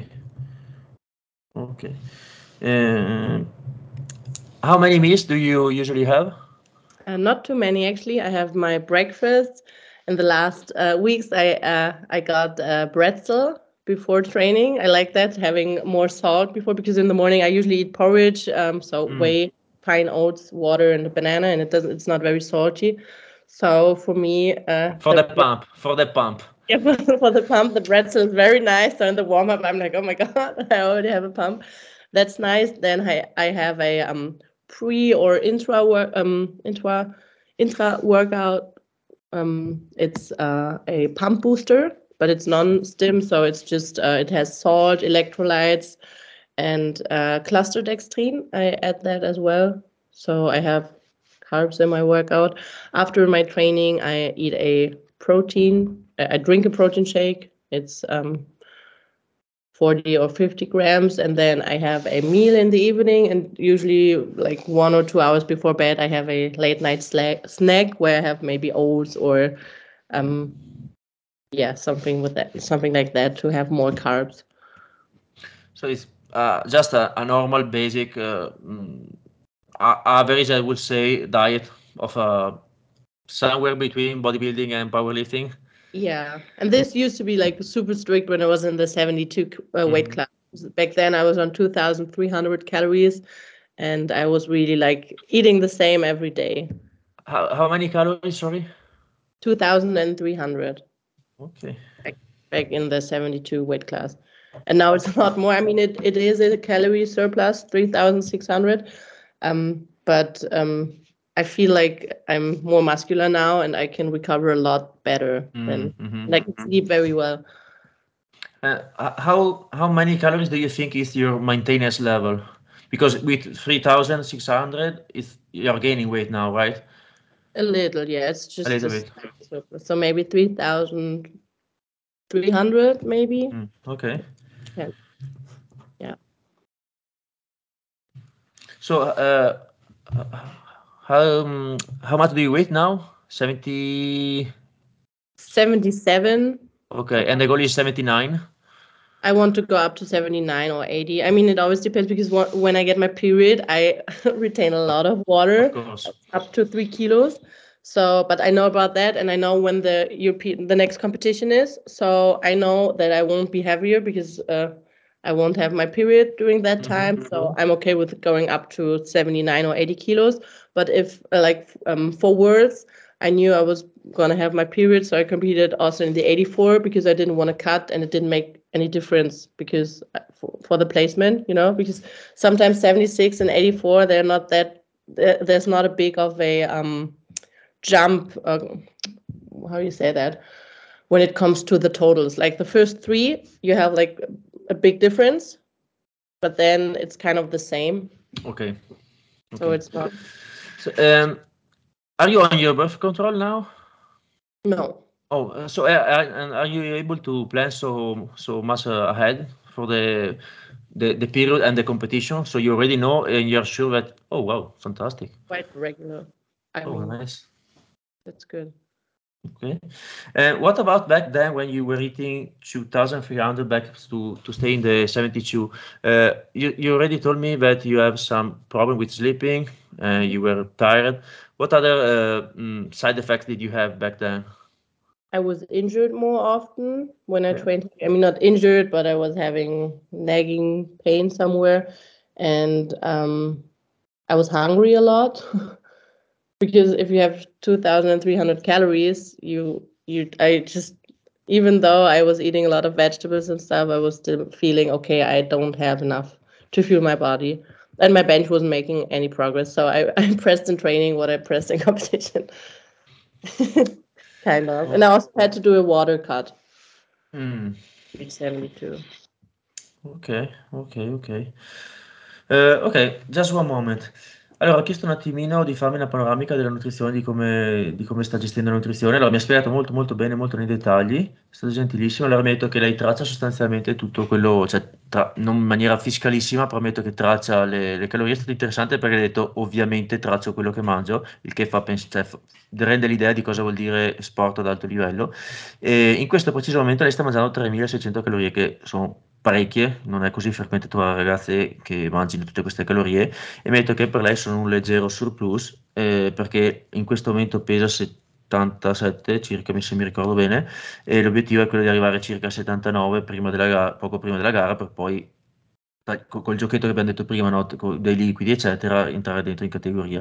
Okay. Uh, how many meals do you usually have? Uh, not too many, actually. I have my breakfast. In the last uh, weeks, I uh, I got uh, bretzel before training. I like that, having more salt before, because in the morning I usually eat porridge, um, so mm. whey, fine oats, water, and a banana, and it doesn't. It's not very salty. So for me, uh, for the, the pump, for the pump. Yeah, for, for the pump, the bretzel is very nice. So in the warm up, I'm like, oh my god, I already have a pump. That's nice. Then I I have a um pre or intra work um intra intra workout. Um, it's uh, a pump booster, but it's non-stim, so it's just uh, it has salt, electrolytes, and uh, cluster dextrine. I add that as well, so I have carbs in my workout. After my training, I eat a protein. I drink a protein shake. It's um, forty or fifty grams, and then I have a meal in the evening, and usually like one or two hours before bed, I have a late night snack where I have maybe oats or um, yeah, something with that, something like that to have more carbs. So it's uh, just a, a normal, basic, uh, average, I would say, diet of uh, somewhere between bodybuilding and powerlifting. Yeah, and this used to be like super strict when I was in the seventy-two uh, weight mm-hmm. class. Back then I was on two thousand three hundred calories, and I was really like eating the same every day. How, how many calories, sorry? two thousand three hundred. Okay. Back, back in the seventy-two weight class. And now it's a lot more. I mean, it, it is a calorie surplus, three thousand six hundred. Um, but um, I feel like I'm more muscular now and I can recover a lot better mm-hmm. than, and I can sleep very well. Uh, how how many calories do you think is your maintenance level? Because with three thousand six hundred, is you're gaining weight now, right? A little, yeah. It's just a little bit. Surplus. So maybe three thousand three hundred, maybe. Mm, okay. Yeah. Yeah. So, uh, how um, how much do you weigh now? seventy. seventy-seven. Okay, and the goal is seventy-nine. I want to go up to seventy-nine or eighty. I mean, it always depends because when I get my period, I retain a lot of water, of course. up to three kilos. So, but I know about that, and I know when the European, the next competition is. So I know that I won't be heavier because uh, I won't have my period during that time. Mm-hmm. So I'm okay with going up to seventy-nine or eighty kilos. But if uh, like um, for Worlds, I knew I was gonna have my period, so I competed also in the eighty-four because I didn't want to cut, and it didn't make any difference because for, for the placement, you know, because sometimes seventy-six and eighty-four, they're not that, there's not a big of a um, jump, uh, how do you say that, when it comes to the totals. Like the first three, you have like a big difference, but then it's kind of the same. Okay. Okay. So it's not. So, um, are you on your birth control now? No. Oh, uh, so uh, and are you able to plan so so much uh, ahead for the, the the period and the competition? So you already know and you're sure that, oh wow, fantastic. Quite regular. I oh, mean, nice. That's good. Okay. And uh, what about back then when you were eating two thousand three hundred back to, to stay in the seventy-two? Uh, you, you already told me that you have some problem with sleeping, uh, you were tired. What other uh, mm, side effects did you have back then? I was injured more often when I yeah. trained. I mean, not injured, but I was having nagging pain somewhere. And um, I was hungry a lot. Because if you have two thousand three hundred calories, you, you, I just, even though I was eating a lot of vegetables and stuff, I was still feeling, okay, I don't have enough to fuel my body. And my bench wasn't making any progress. So I, I pressed in training what I pressed in competition. Kind of. And I also had to do a water cut Mm. recently too. Ok, ok, ok. Eh, ok, just one moment. Allora, ho chiesto un attimino di farmi una panoramica della nutrizione, di come, di come sta gestendo la nutrizione. Allora, mi ha spiegato molto molto bene, molto nei dettagli, è stato gentilissimo. Allora, mi ha detto che lei traccia sostanzialmente tutto quello, cioè, tra- non in maniera fiscalissima, però mi ha detto che traccia le, le calorie. È stato interessante perché ha detto, ovviamente traccio quello che mangio, il che fa pens- cioè, fa- rende l'idea di cosa vuol dire sport ad alto livello. E in questo preciso momento lei sta mangiando tremilaseicento calorie, che sono parecchie, non è così frequente trovare ragazze che mangino tutte queste calorie, e mi ha detto che per lei sono un leggero surplus, eh, perché in questo momento pesa settantasette circa, se mi ricordo bene, e l'obiettivo è quello di arrivare circa a settantanove prima della gara, poco prima della gara, per poi dai, co- col giochetto che abbiamo detto prima, no? Co- dei liquidi, eccetera, entrare dentro in categoria.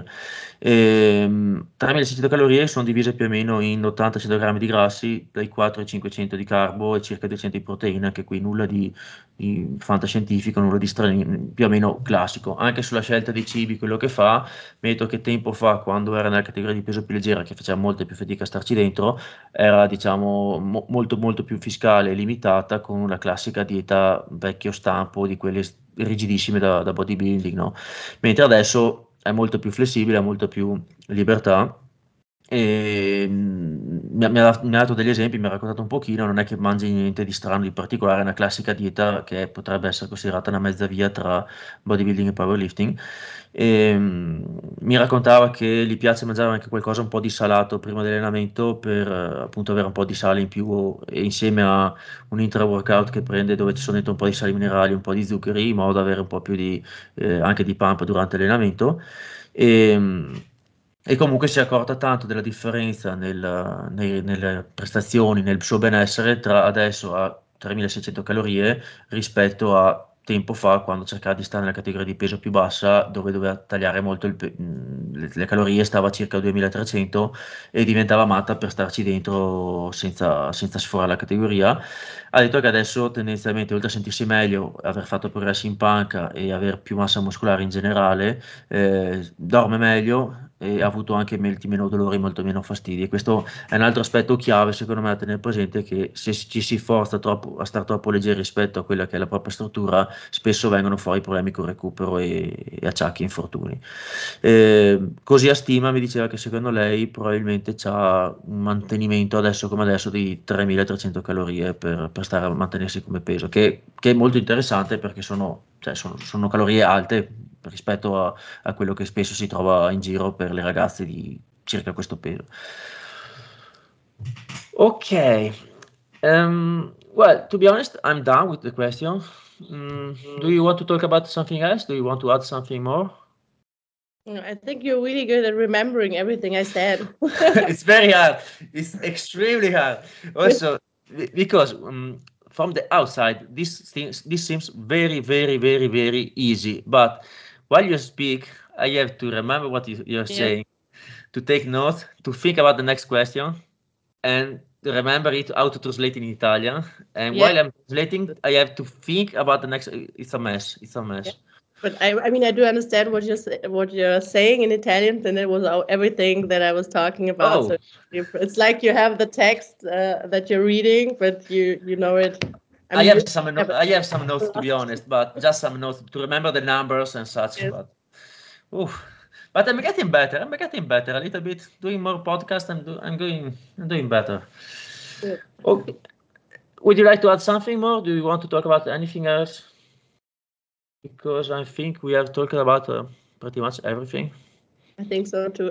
Ehm, tremilaseicento calorie sono divise più o meno in ottanta cento grammi di grassi, dai quattro ai cinquecento di carbo e circa duecento di proteine, anche qui nulla di, di fantascientifico, nulla di strano, più o meno classico. Anche sulla scelta dei cibi, quello che fa, metto che tempo fa, quando era nella categoria di peso più leggera, che faceva molta più fatica a starci dentro, era diciamo mo- molto molto più fiscale e limitata, con una classica dieta vecchio stampo di quelle rigidissime da, da bodybuilding, no? Mentre adesso è molto più flessibile, ha molto più libertà. E mm, mi ha, mi ha- mi ha dato degli esempi, mi ha raccontato un pochino, non è che mangi niente di strano, di particolare, è una classica dieta che potrebbe essere considerata una mezza via tra bodybuilding e powerlifting. E, mm, mi raccontava che gli piace mangiare anche qualcosa un po' di salato prima dell'allenamento, per eh, appunto avere un po' di sale in più, e insieme a un intra-workout che prende, dove ci sono dentro un po' di sali minerali, un po' di zuccheri, in modo da avere un po' più di, eh, anche di pump durante l'allenamento. E, mm, e comunque si è accorta tanto della differenza nel- nei- nelle prestazioni, nel suo benessere, tra adesso a tremilaseicento calorie rispetto a tempo fa, quando cercava di stare nella categoria di peso più bassa, dove doveva tagliare molto il pe- mh, le, le calorie, stava a circa duemilatrecento, e diventava matta per starci dentro senza, senza sforare la categoria. Ha detto che adesso tendenzialmente, oltre a sentirsi meglio, aver fatto progressi in panca e aver più massa muscolare in generale, eh, dorme meglio e ha avuto anche molti meno dolori, molto meno fastidi. E questo è un altro aspetto chiave, secondo me, da tenere presente, che se ci si forza troppo a stare troppo leggeri rispetto a quella che è la propria struttura, spesso vengono fuori problemi con il recupero e, e acciacchi e infortuni. Eh, così a stima mi diceva che secondo lei probabilmente c'ha un mantenimento adesso come adesso di tremilatrecento calorie per, per stare a mantenersi come peso, che, che è molto interessante, perché sono, cioè, sono, sono calorie alte rispetto a, a quello che spesso si trova in giro per le ragazze di circa questo peso. Ok. Um, well, to be honest, I'm done with the question. Mm, do you want to talk about something else? Do you want to add something more? I think you're really good at remembering everything I said. It's very hard. It's extremely hard. Also, be- because um, from the outside, this things this seems very, very, very, very easy. But while you speak, I have to remember what you, you're Yes. saying, to take notes, to think about the next question, and to remember it how to translate in Italian. And Yeah. while I'm translating, I have to think about the next. It's a mess. It's a Yeah. mess. But I, I mean, I do understand what you're sa- what you're saying in Italian, and it was all- everything that I was talking about. Oh, So you- it's like you have the text uh, that you're reading, but you you know it. I I mean, have you some no- have it I have some a notes, to be lot. honest, but just some notes to remember the numbers and such. Yes. But oof. But I'm getting better. I'm getting better a little bit. Doing more podcasts. I'm do, I'm going. I'm doing better. Good. Oh, would you like to add something more? Do you want to talk about anything else? Because I think we have talked about uh, pretty much everything. I think so too.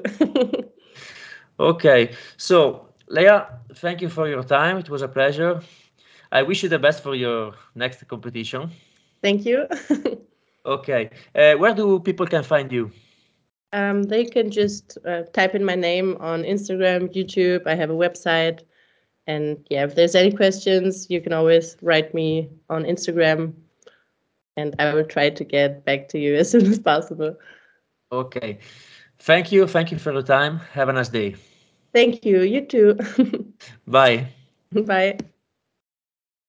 Okay, so Leia, thank you for your time. It was a pleasure. I wish you the best for your next competition. Thank you. Okay, uh, where do people can find you? Um, they can just uh, type in my name on Instagram, YouTube. I have a website. And yeah, if there's any questions, you can always write me on Instagram and I will try to get back to you as soon as possible. Okay, thank you. Thank you for your time. Have a nice day. Thank you. You too. Bye. Bye.